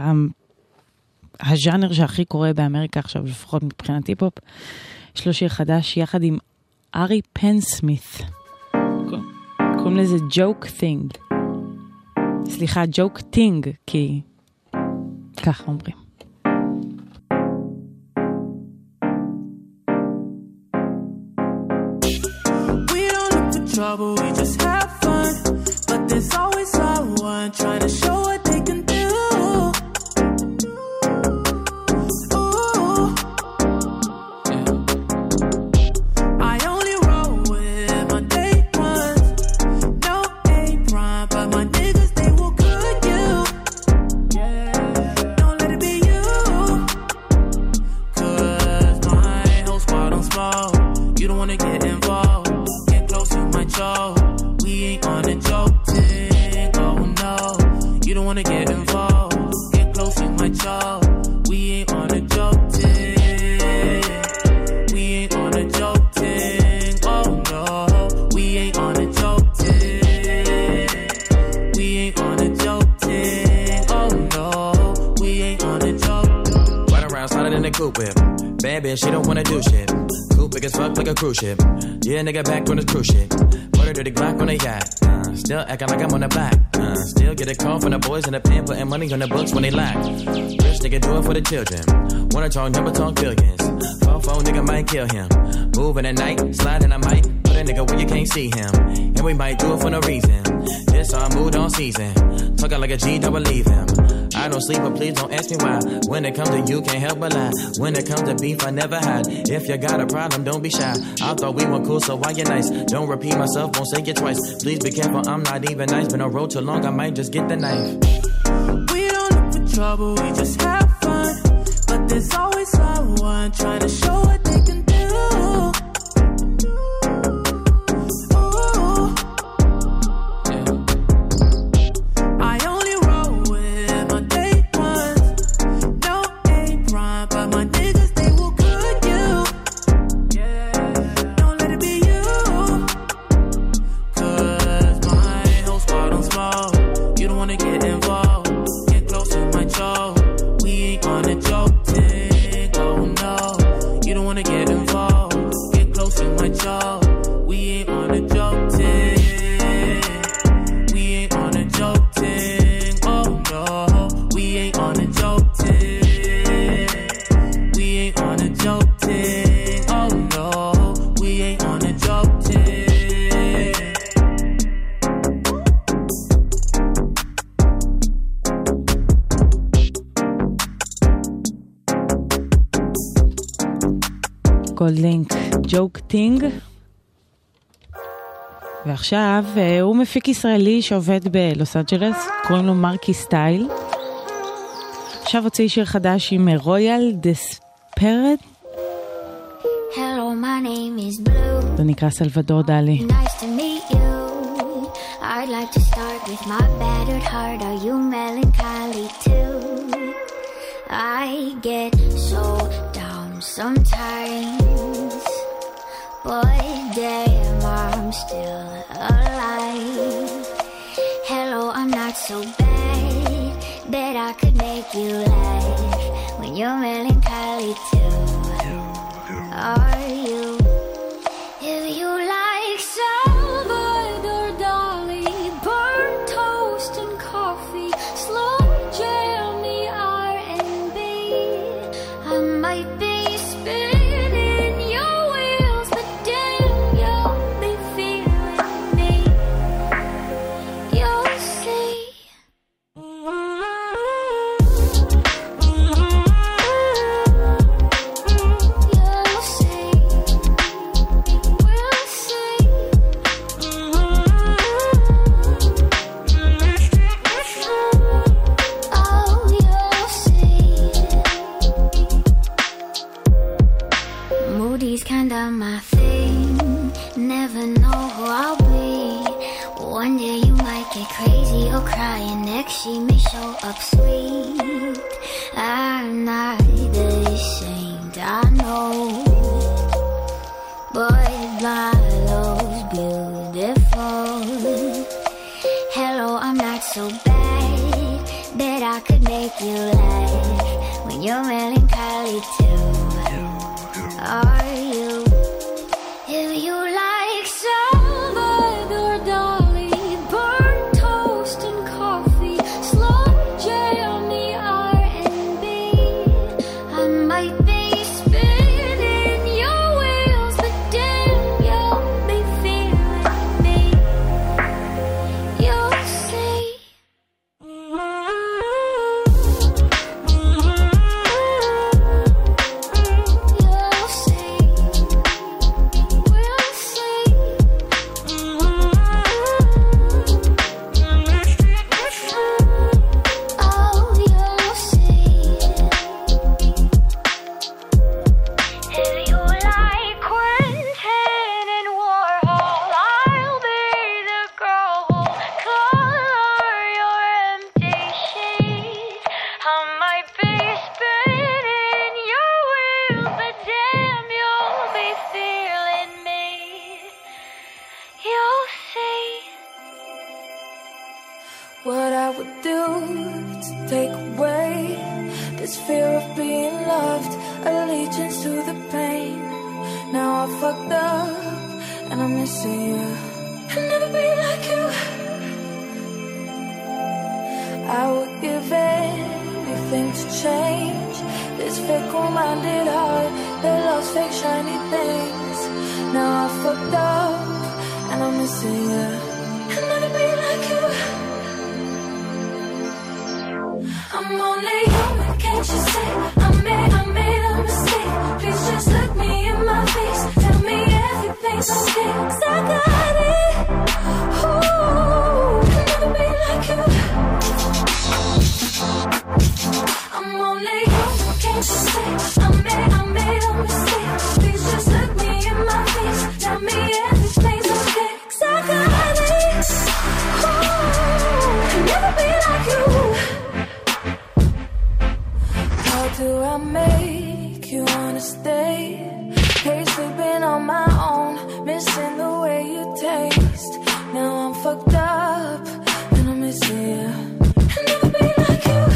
הז'אנר שהכי קורה באמריקה עכשיו, לפחות מבחינת היפ-הופ. יש לו שיר חדש יחד עם ארי פנסמית. קוראים לזה ג'וק טינג. סליחה, ג'וק טינג, כי ככה אומרים. Trouble, we just have fun, but there's always someone trying to show what they can do. Ooh. Yeah. I only roll with my day ones, no A-prime, but my niggas, they will cook you. Yeah. Don't let it be you, 'cause my whole squad on small. You don't wanna get involved. We ain't on a joke thing, oh no. You don't wanna get involved. Get close, you might choke. We ain't on a joke thing. We ain't on a joke thing, oh no. We ain't on a joke thing. We ain't on a joke thing, oh no. We ain't on a joke. Ride around, sliding in the coupe whip. Bad bitch, she don't wanna do shit. Coupe big as fuck like a cruise ship. Yeah, nigga back on this cruise shit. Put her to the Glock on the yacht. Still acting like I'm on the block. Still get a call from the boys in the pen, putting money on the books when they lack. Rich nigga do it for the children. Wanna talk number, talk billions. Phone nigga might kill him. Moving at night, sliding I might. Put a nigga where you can't see him. And we might do it for no reason. This our mood on season. Talking like a G, don't believe him. I don't sleep, but please don't ask me why. When it comes to you, can't help but lie. When it comes to beef, I never hide. If you got a problem, don't be shy. I thought we were cool, so why you nice? Don't repeat myself, won't say it twice. Please be careful, I'm not even nice. Been on road too long, I might just get the knife. We don't look for trouble, we just have fun. But there's always someone trying to show what they can do. גולדלינק, ג'וק טינג. ועכשיו הוא מפיק ישראלי שעובד בלוס אנג'לס, קוראים לו מרקי סטייל. עכשיו הוציא שיר חדש עם רויאל דספרד. Hello, my name is Blue. זה נקרא סלבדור דלי. Nice to meet you. I'd like to start with my battered heart. Are you melancholy too? I get so down sometimes, but damn, I'm still alive. Hello, I'm not so bad, bet I could make you laugh when you're melancholy too. Are you? If you like Salvador Dali, burnt toast and coffee, slow jam the R&B, I might be spinning your wheels, but damn, you'll be feeling me. You'll see. You'll see. crazy or crying next, she may show up sweet. I'm not the saint, I know, but my love's beautiful. Hello, I'm not so bad, bet I could make you laugh when you're melancholy too. Are you? If you like Salvador Dali, burnt toast and coffee, slow J on the R&B, I might be spinning your wheels, but damn, you'll be feeling me. You'll see. You'll see. We'll see. Oh, you'll see. If you like Quentin and Warhol, I'll be the girl who'll color your empty sheet. I might be spinning your wheels, but damn, you'll be feeling me. You'll see. What I would do to take away this fear of being loved, allegiance to the pain. Now I fucked up and I'm missing you. I'll never be like you. I would give anything to change this fickle-minded heart that loves fake shiny things. Now I fucked up and I'm missing you. I'll never be like you. I'm only human, can't you see? I made a mistake. Please just look me in my face. Tell me everything's okay, 'cause I got it. Ooh, I'll never be like you. I'm only human, can't you see? I made a mistake. Please just look me in my face. Tell me everything's okay, 'cause I got it. Ooh, I'll never be like you. How do I make you wanna stay? Hate sleeping on my own, missing the way you taste. Now I'm fucked up and I'm missing you. I'll never be like you.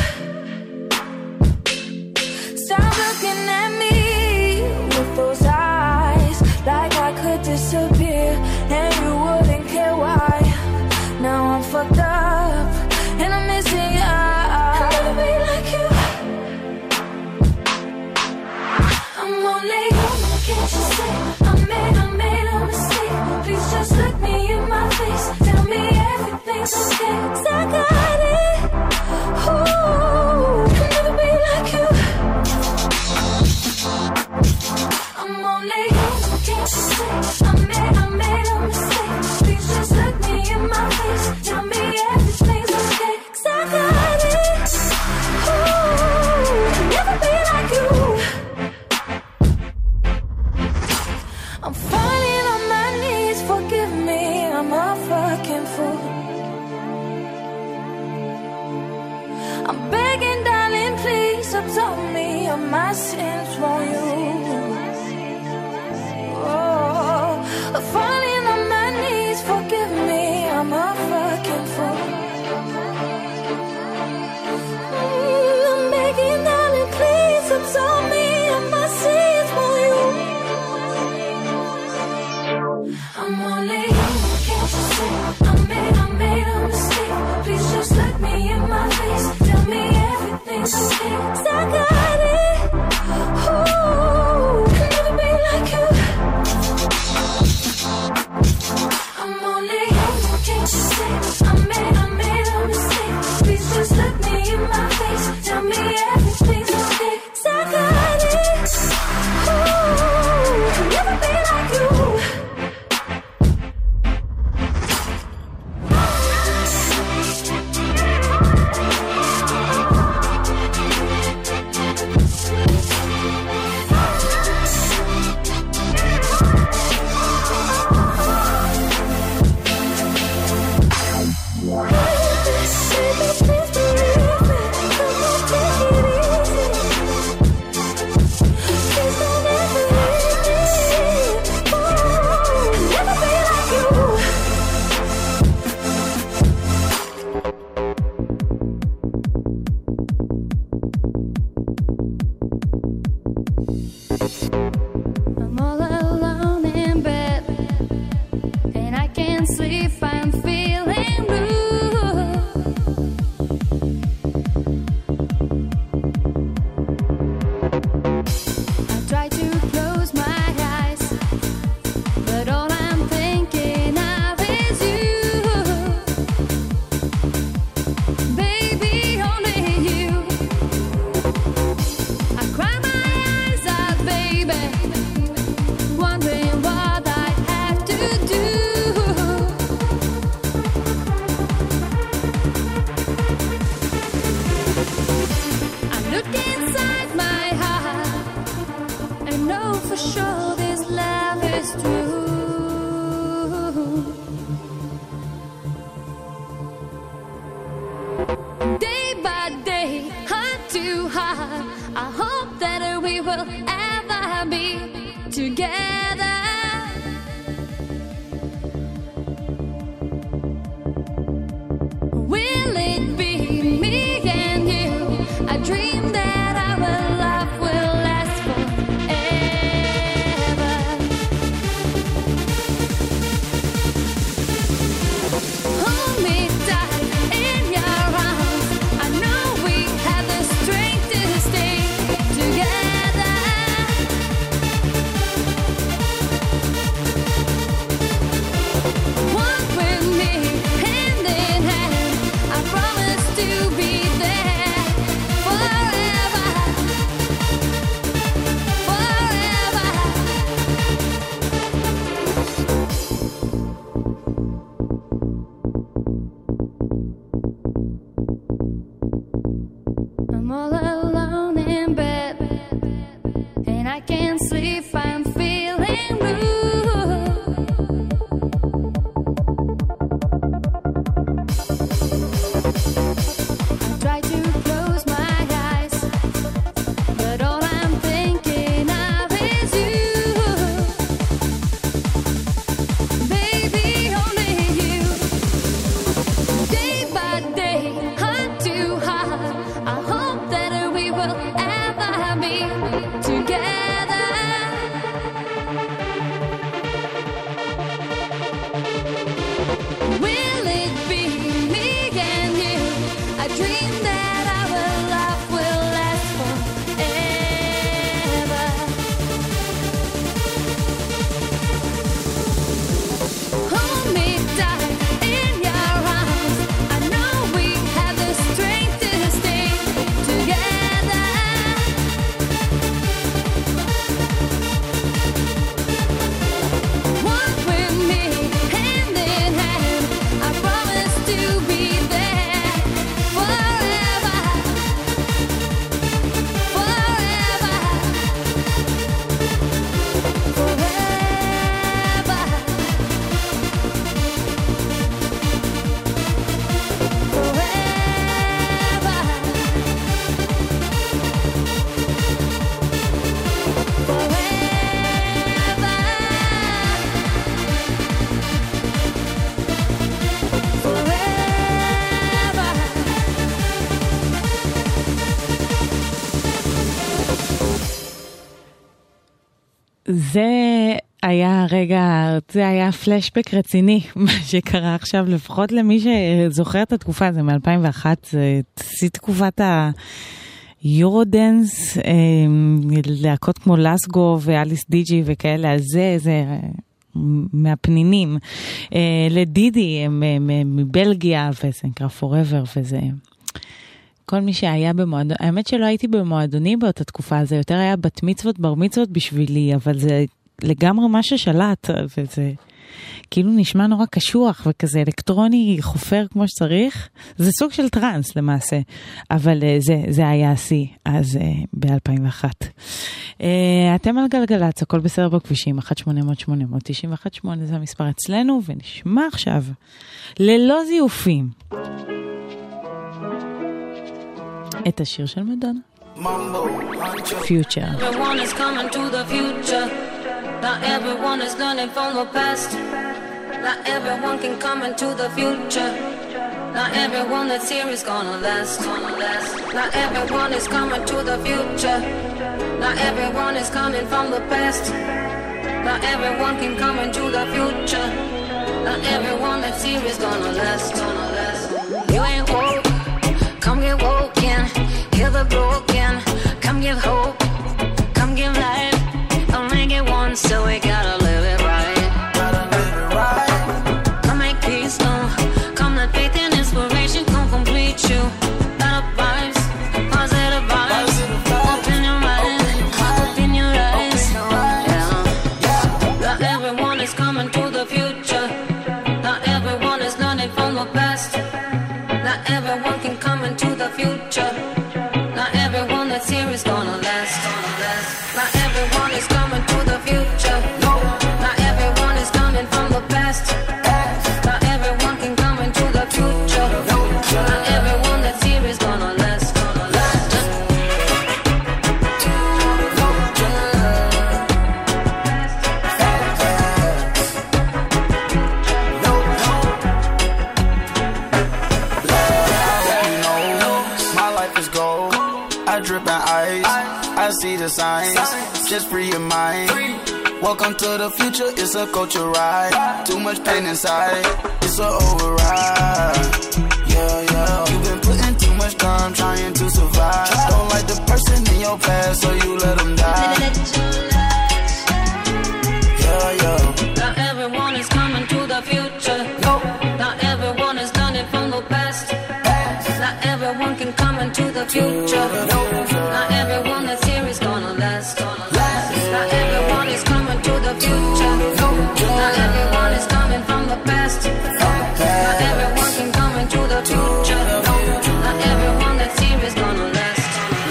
Stop looking at me with those eyes, like I could disappear and you wouldn't care why. Now I'm fucked up and I'm missing you. I'll never be like you. I'm only human, can't you see? I made a mistake. Please just look me in my face. Tell me everything's okay, 'cause I got it. Ooh, I'll never be like you. I'm only human, can't you see? I made a mistake. Please just look me in my face. Tell me everything's okay, 'cause I got it. Ooh, I'll never be like you. I'm falling on my knees, forgive me, I'm a fucking fool. I'm begging, darling, please absolve me of my sins, won't you? Oh, I'm falling on my knees, forgive me, I'm a fucking fool. I'm begging, darling, please absolve me of my sins, won't you? I'm only human, can't you see? I made a mistake. Please just look me in my face. Tell me everything's okay, 'cause I got it. Ooh, I'll never be like you. I'm only human, can't you see? I made a mistake. Please just look me in my face. Tell me everything's okay, 'cause I got it. Ooh, I'll never be like you. Day by day, heart to heart, I hope that we will ever be together. Will it be me and you? I dream that our love will last forever. Hold me tight in your arms. I know we have the strength to stay together. Walk with me hand in hand. I promise to be there forever, forever. I'm all alone in bed, and I can't sleep. I'm feeling blue. I try to close my eyes, but all I'm thinking of is you. Baby, only you. Day by day, heart to heart, I hope that we will ever be together. Will it be me and you? I dream that our love will last forever. Hold me tight in your arms. I know we have the strength to stay together. Walk with me hand in hand. I promise to be there forever, forever, זה היה רגע, זה היה פלשבק רציני, מה שקרה עכשיו, לפחות למי שזוכר את התקופה הזו מ-2001, זה תקופת היורודנס, להקות כמו לסגו ואליס דיג'י וכאלה, אז זה מהפנינים. לדידי, מבלגיה, וזה נקרא Forever, וזה... כל מי שהיה במועדון, האמת שלא הייתי במועדוני באותה תקופה, זה יותר היה בת מצוות, בר מצוות בשבילי, אבל זה לגמרי מה ששלט, וזה כאילו נשמע נורא קשוח, וכזה אלקטרוני חופר כמו שצריך, זה סוג של טרנס למעשה, אבל זה היה השיא, אז ב-2001. אתם על גלגלצ, הכל בסדר בכבישים, 1-800-891-8, זה המספר אצלנו, ונשמע עכשיו, ללא זיופים. את השיר של מדונה. Future. Everyone is coming to the future. Not everyone is learning from the past. Not everyone can come into the future. Not everyone that's here is gonna last. Not everyone is coming to the future. Not everyone is coming from the past. Not everyone can come into the future. Not everyone that's here is gonna last. You ain't woke, come get woken. Hear the broken, come give hope, come give life. I'll make it once, so we gotta live it right. Come make peace, come let faith and inspiration come complete you. Better vibes, positive vibes. Open your mind, open your eyes. Yeah. Not everyone is coming to the future. Not everyone is learning from the past. I see the signs. Just free your mind. Welcome to the future, it's a culture ride. Too much pain inside, it's a override. Yeah, yeah. You've been putting too much time trying to survive. Don't like the person in your past, so you let them die. Yeah, yeah. Not everyone is coming to the future. Not everyone is learning from the past. Not everyone can come into the future. Not everyone that's here is gonna last. Not everyone is coming to the future. Not everyone is coming from the past. Not everyone can come into the future. Not everyone that's here is gonna last.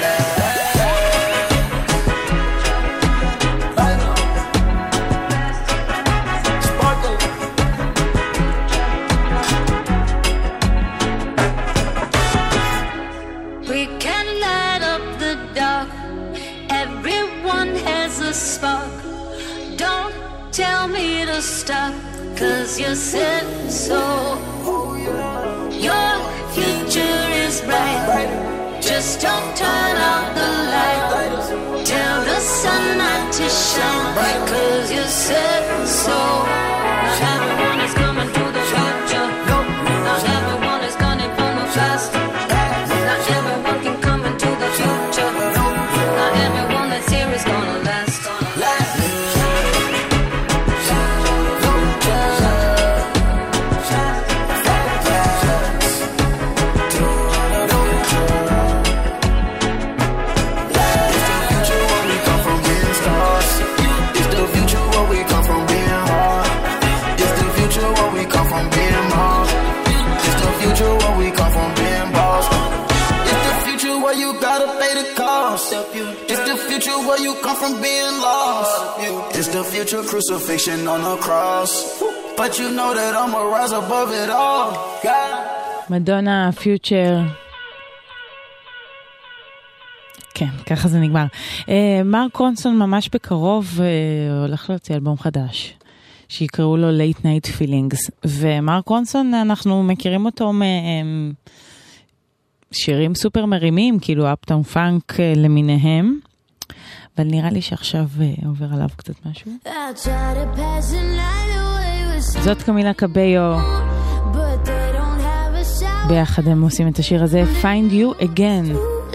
We can light up the dark. Everyone has a spark. Don't tell me to stop, 'cause you said so. Your future is bright. Just don't turn out the light. Tell the sun not to shine, 'cause you said so. Not everyone is coming to the future. Not everyone is coming from the past. Not everyone can come into the future. Not everyone that's here is gonna last. It's the future where you come from being lost. It's the future crucifixion on the cross. But you know that I'ma rise above it all. מדונה, פיוטר. כן, ככה זה נגמר. מרק רונסון ממש בקרוב הולך להוציא אלבום חדש, שיקראו לו Late Night Feelings. ומרק רונסון, אנחנו מכירים אותו שירים סופר מרימים, כאילו אפטאון פאנק למיניהם, אבל נראה לי שעכשיו עובר עליו קצת משהו. זאת קמילה קביו, ביחד הם עושים את השיר הזה, Find You Again.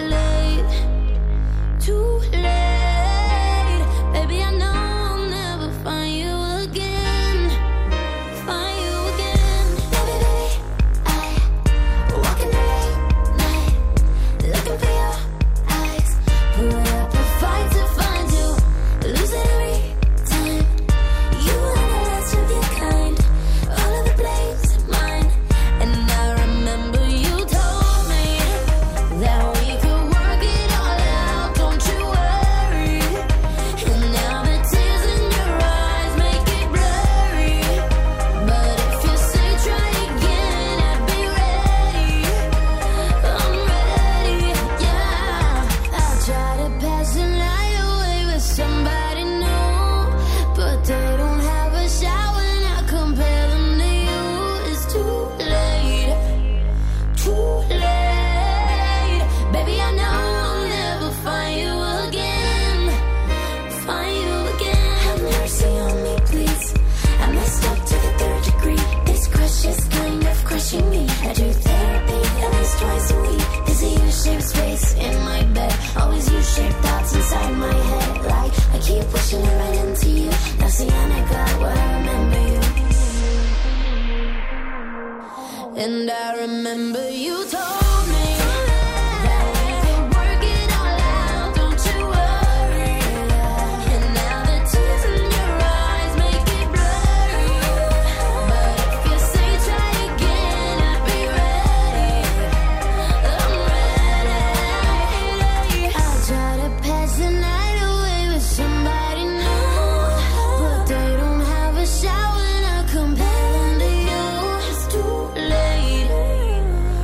And I remember you told me that we could work it all out, don't you worry. And now the tears in your eyes make it blurry. But if you say try again, I'd be ready. I'm ready. I'll try to pass the night away with somebody new, but they don't have a shower and I compare them to you. It's too late.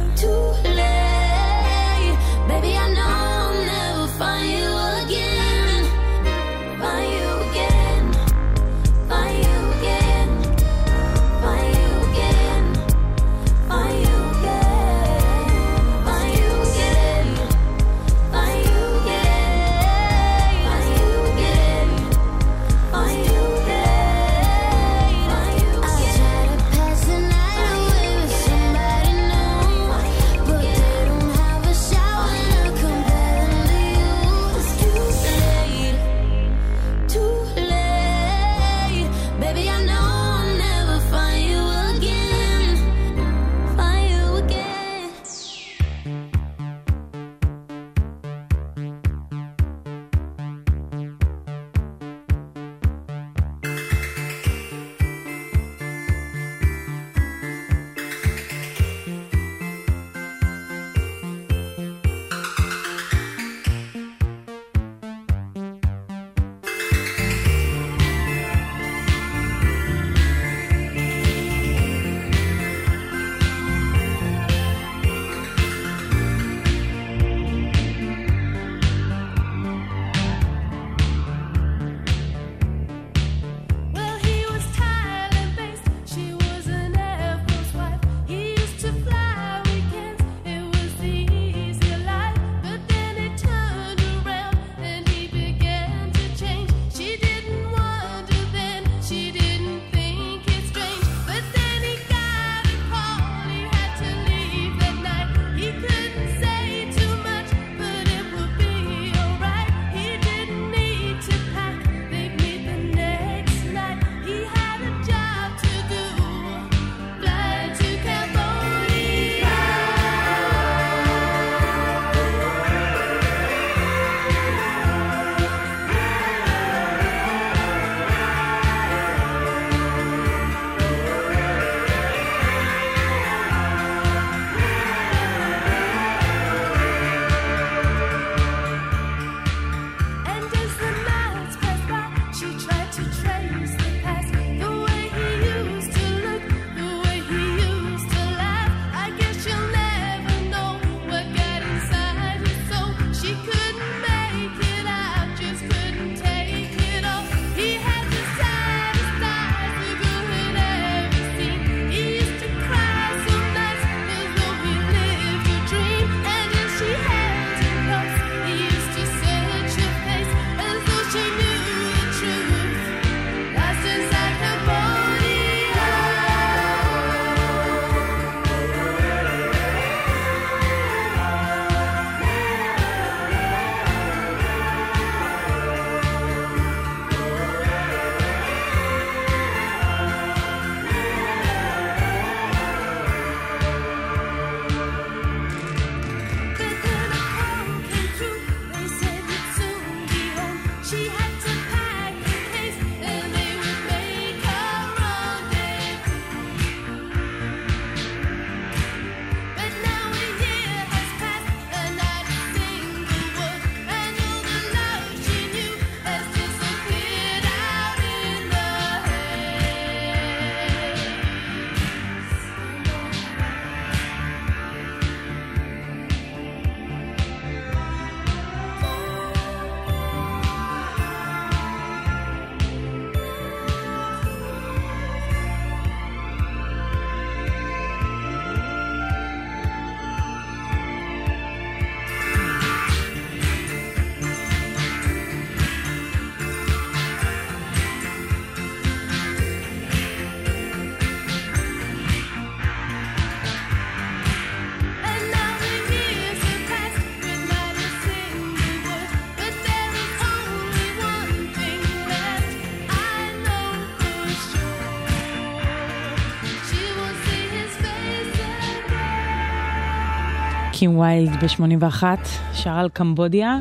קים ויילד ב-81, שר על קמבודיה.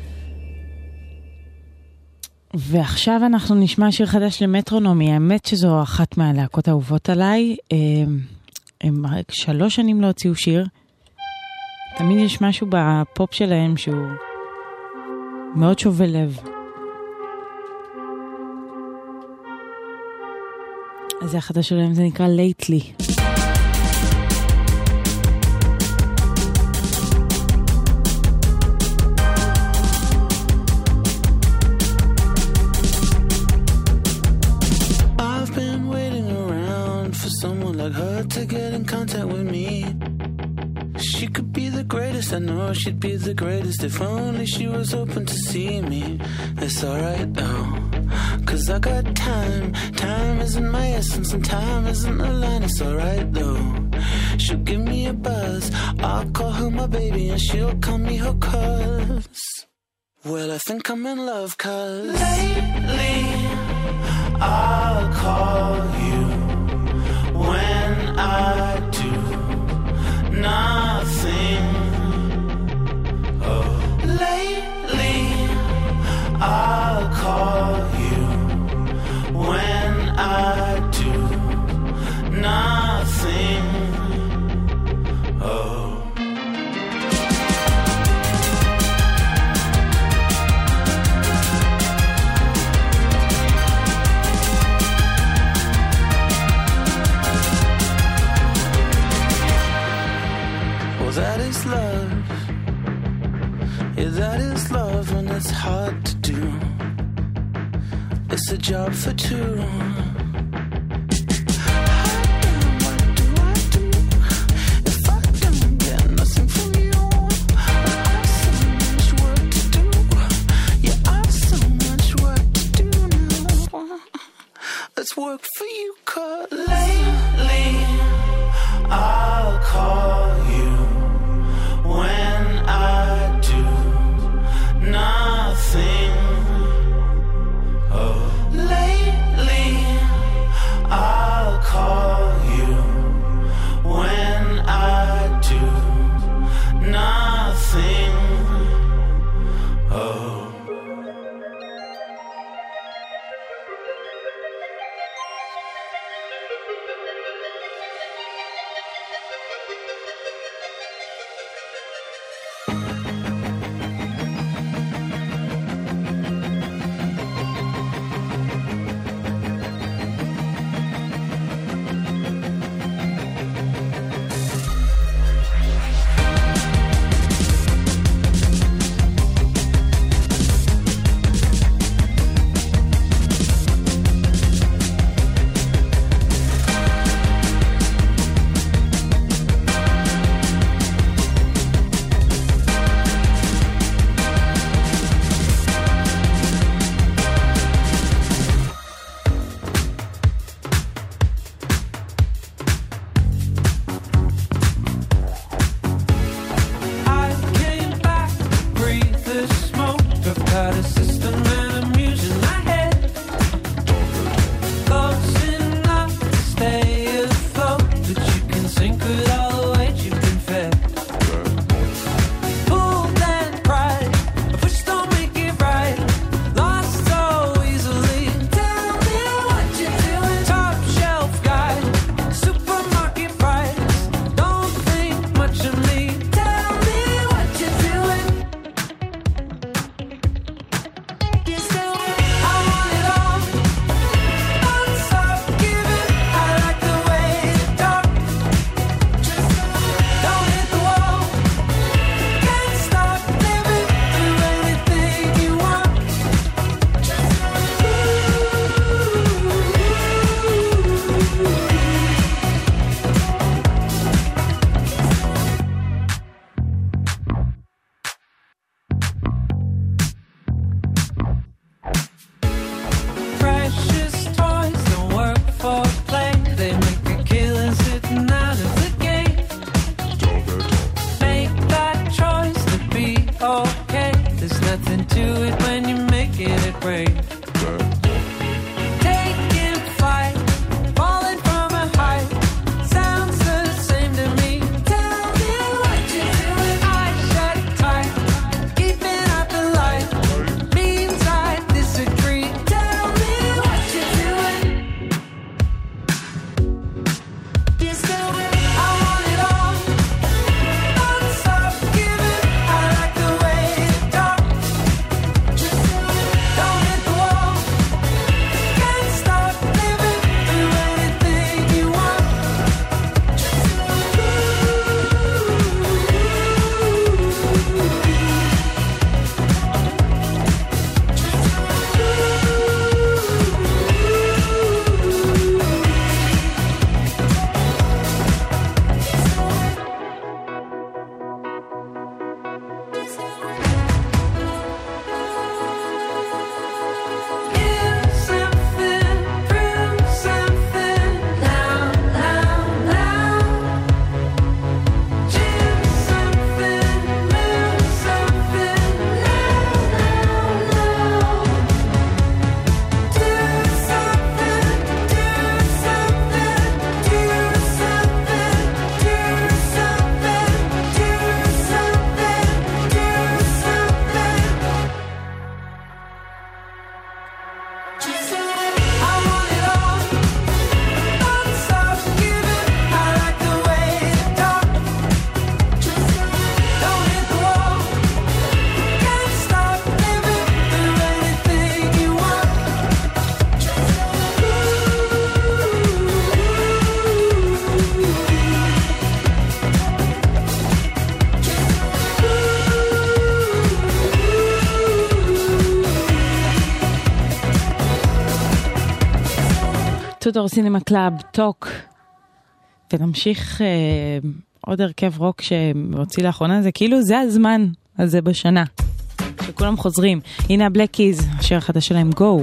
ועכשיו אנחנו נשמע שיר חדש למטרונומי. האמת שזו אחת מהלהקות האהובות עליי. הם 3 שנים לא הוציאו שיר. תמיד יש משהו בפופ שלהם שהוא מאוד שובה לב. אז החדש שלהם זה נקרא Lately. Like her to get in contact with me. She could be the greatest, I know she'd be the greatest if only she was open to see me. It's alright though, cause I got time. Time isn't my essence and time isn't a line. It's alright though, she'll give me a buzz. I'll call her my baby and she'll call me her cuz. Well, I think I'm in love cause lately I'll call you when I do nothing Yeah, that is love and it's hard to do. It's a job for two. Let's work for you, 'cause lately I'll call you when I do nothing. Oh, lately I'll call you when I do nothing. Oh. מטודור סינמה קלאב, טוק, ונמשיך עוד הרכב רוק שהוציא לאחרונה, זה כאילו זה הזמן הזה בשנה, שכולם חוזרים. הנה הבלק קיז, השיר החדש שלהם, גו.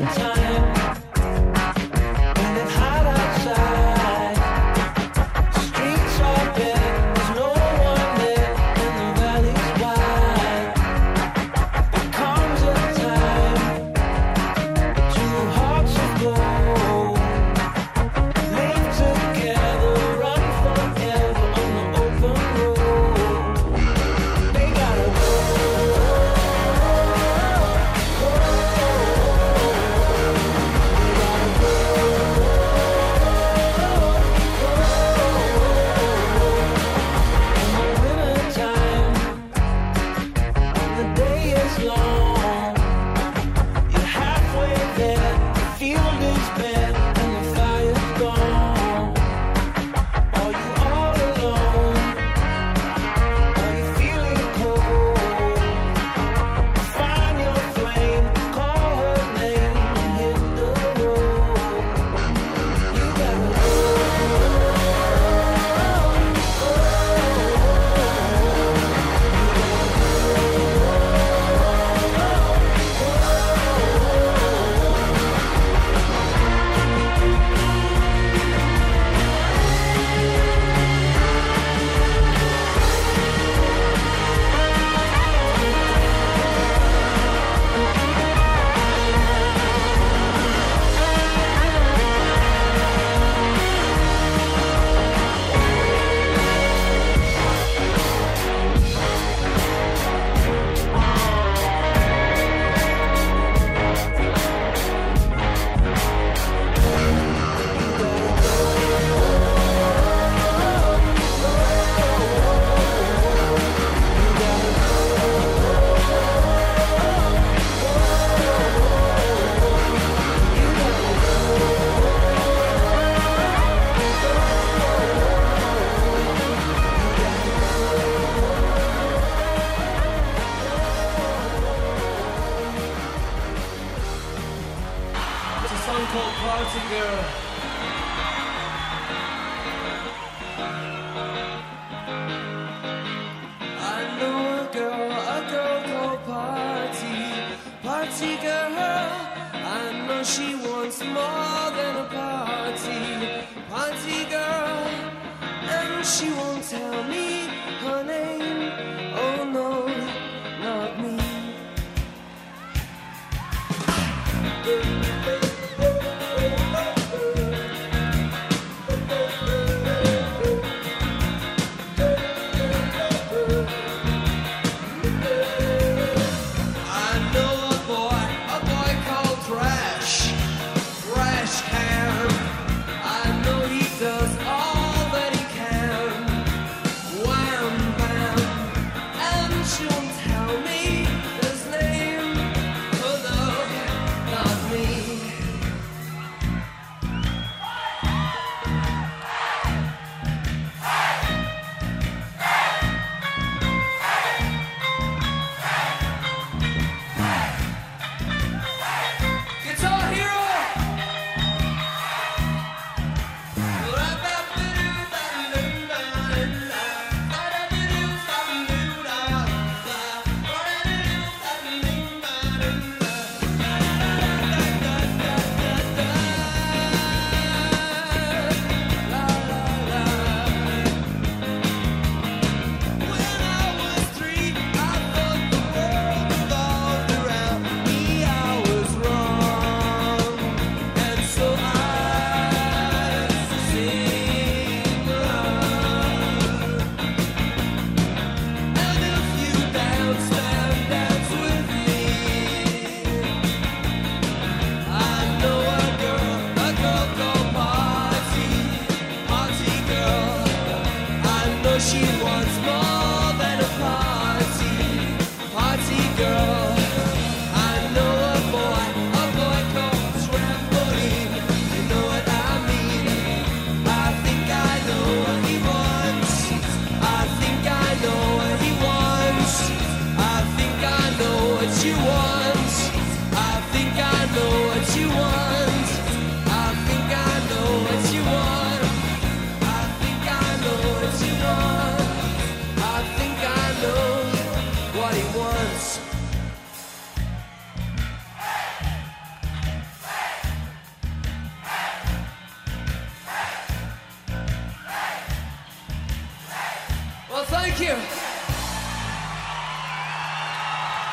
Why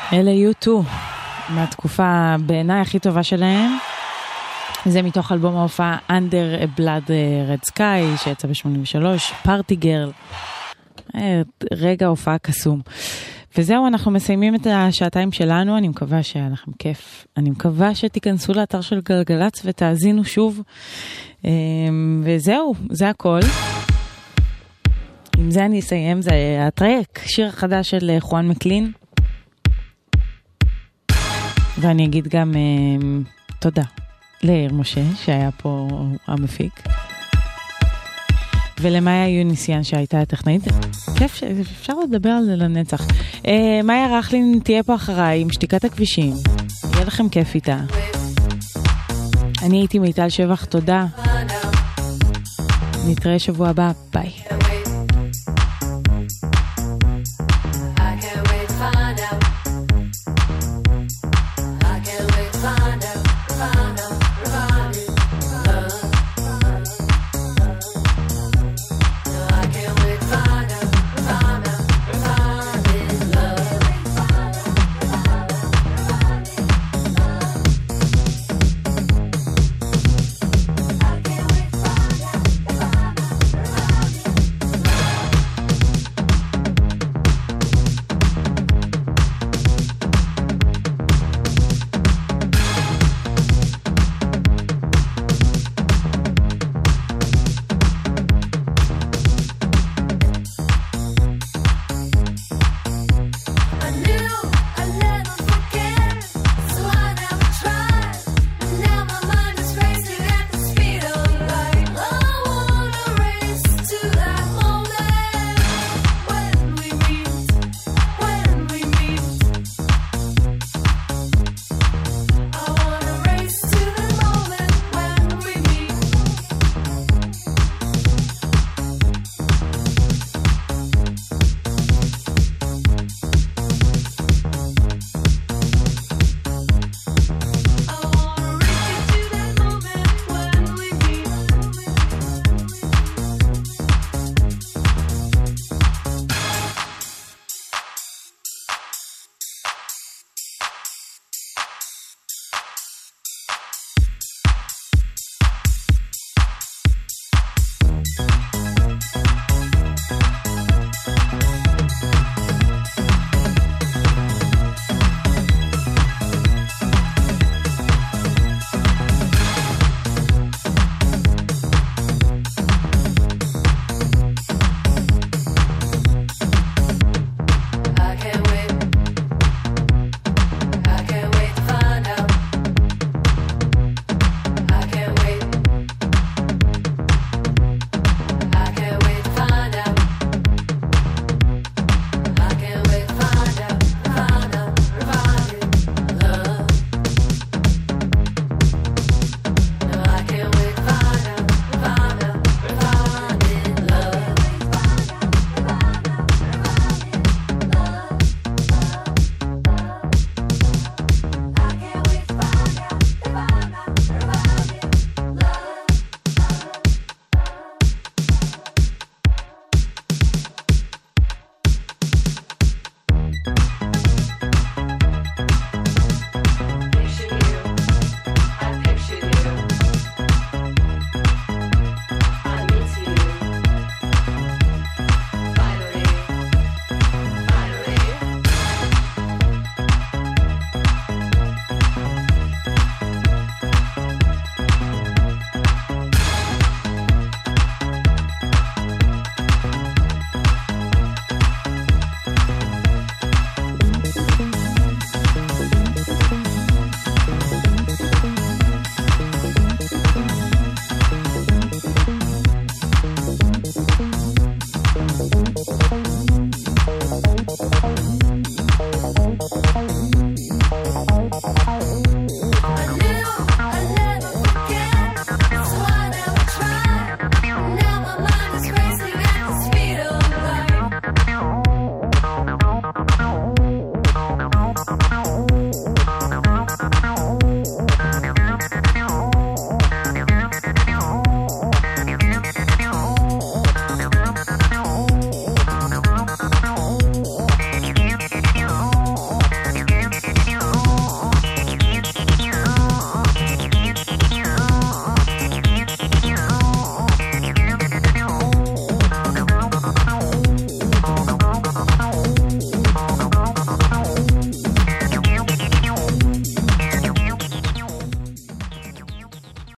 אלה U2, מהתקופה בעיניי הכי טובה שלהם. זה מתוך אלבום ההופעה Under a Blood Red Sky, שיצא ב-83, Party Girl. רגע הופעה קסום. וזהו, אנחנו מסיימים את השעתיים שלנו, אני מקווה שהיה לכם כיף. אני מקווה שתיכנסו לאתר של גלגלץ ותאזינו שוב. וזהו, זה הכל. עם זה אני אסיים, זה הטרק, שיר חדש של חואן מקלין. ואני אגיד גם תודה לאיר משה, שהיה פה המפיק. ולמאיה יוניסיאן שהייתה הטכנאית. כיף, אפשר לדבר על זה לנצח. מאיה רחלין תהיה פה אחריי עם שתיקת הכבישים. יהיה לכם כיף איתה. אני הייתי מיטל שבח, תודה. נתראה שבוע הבא, ביי.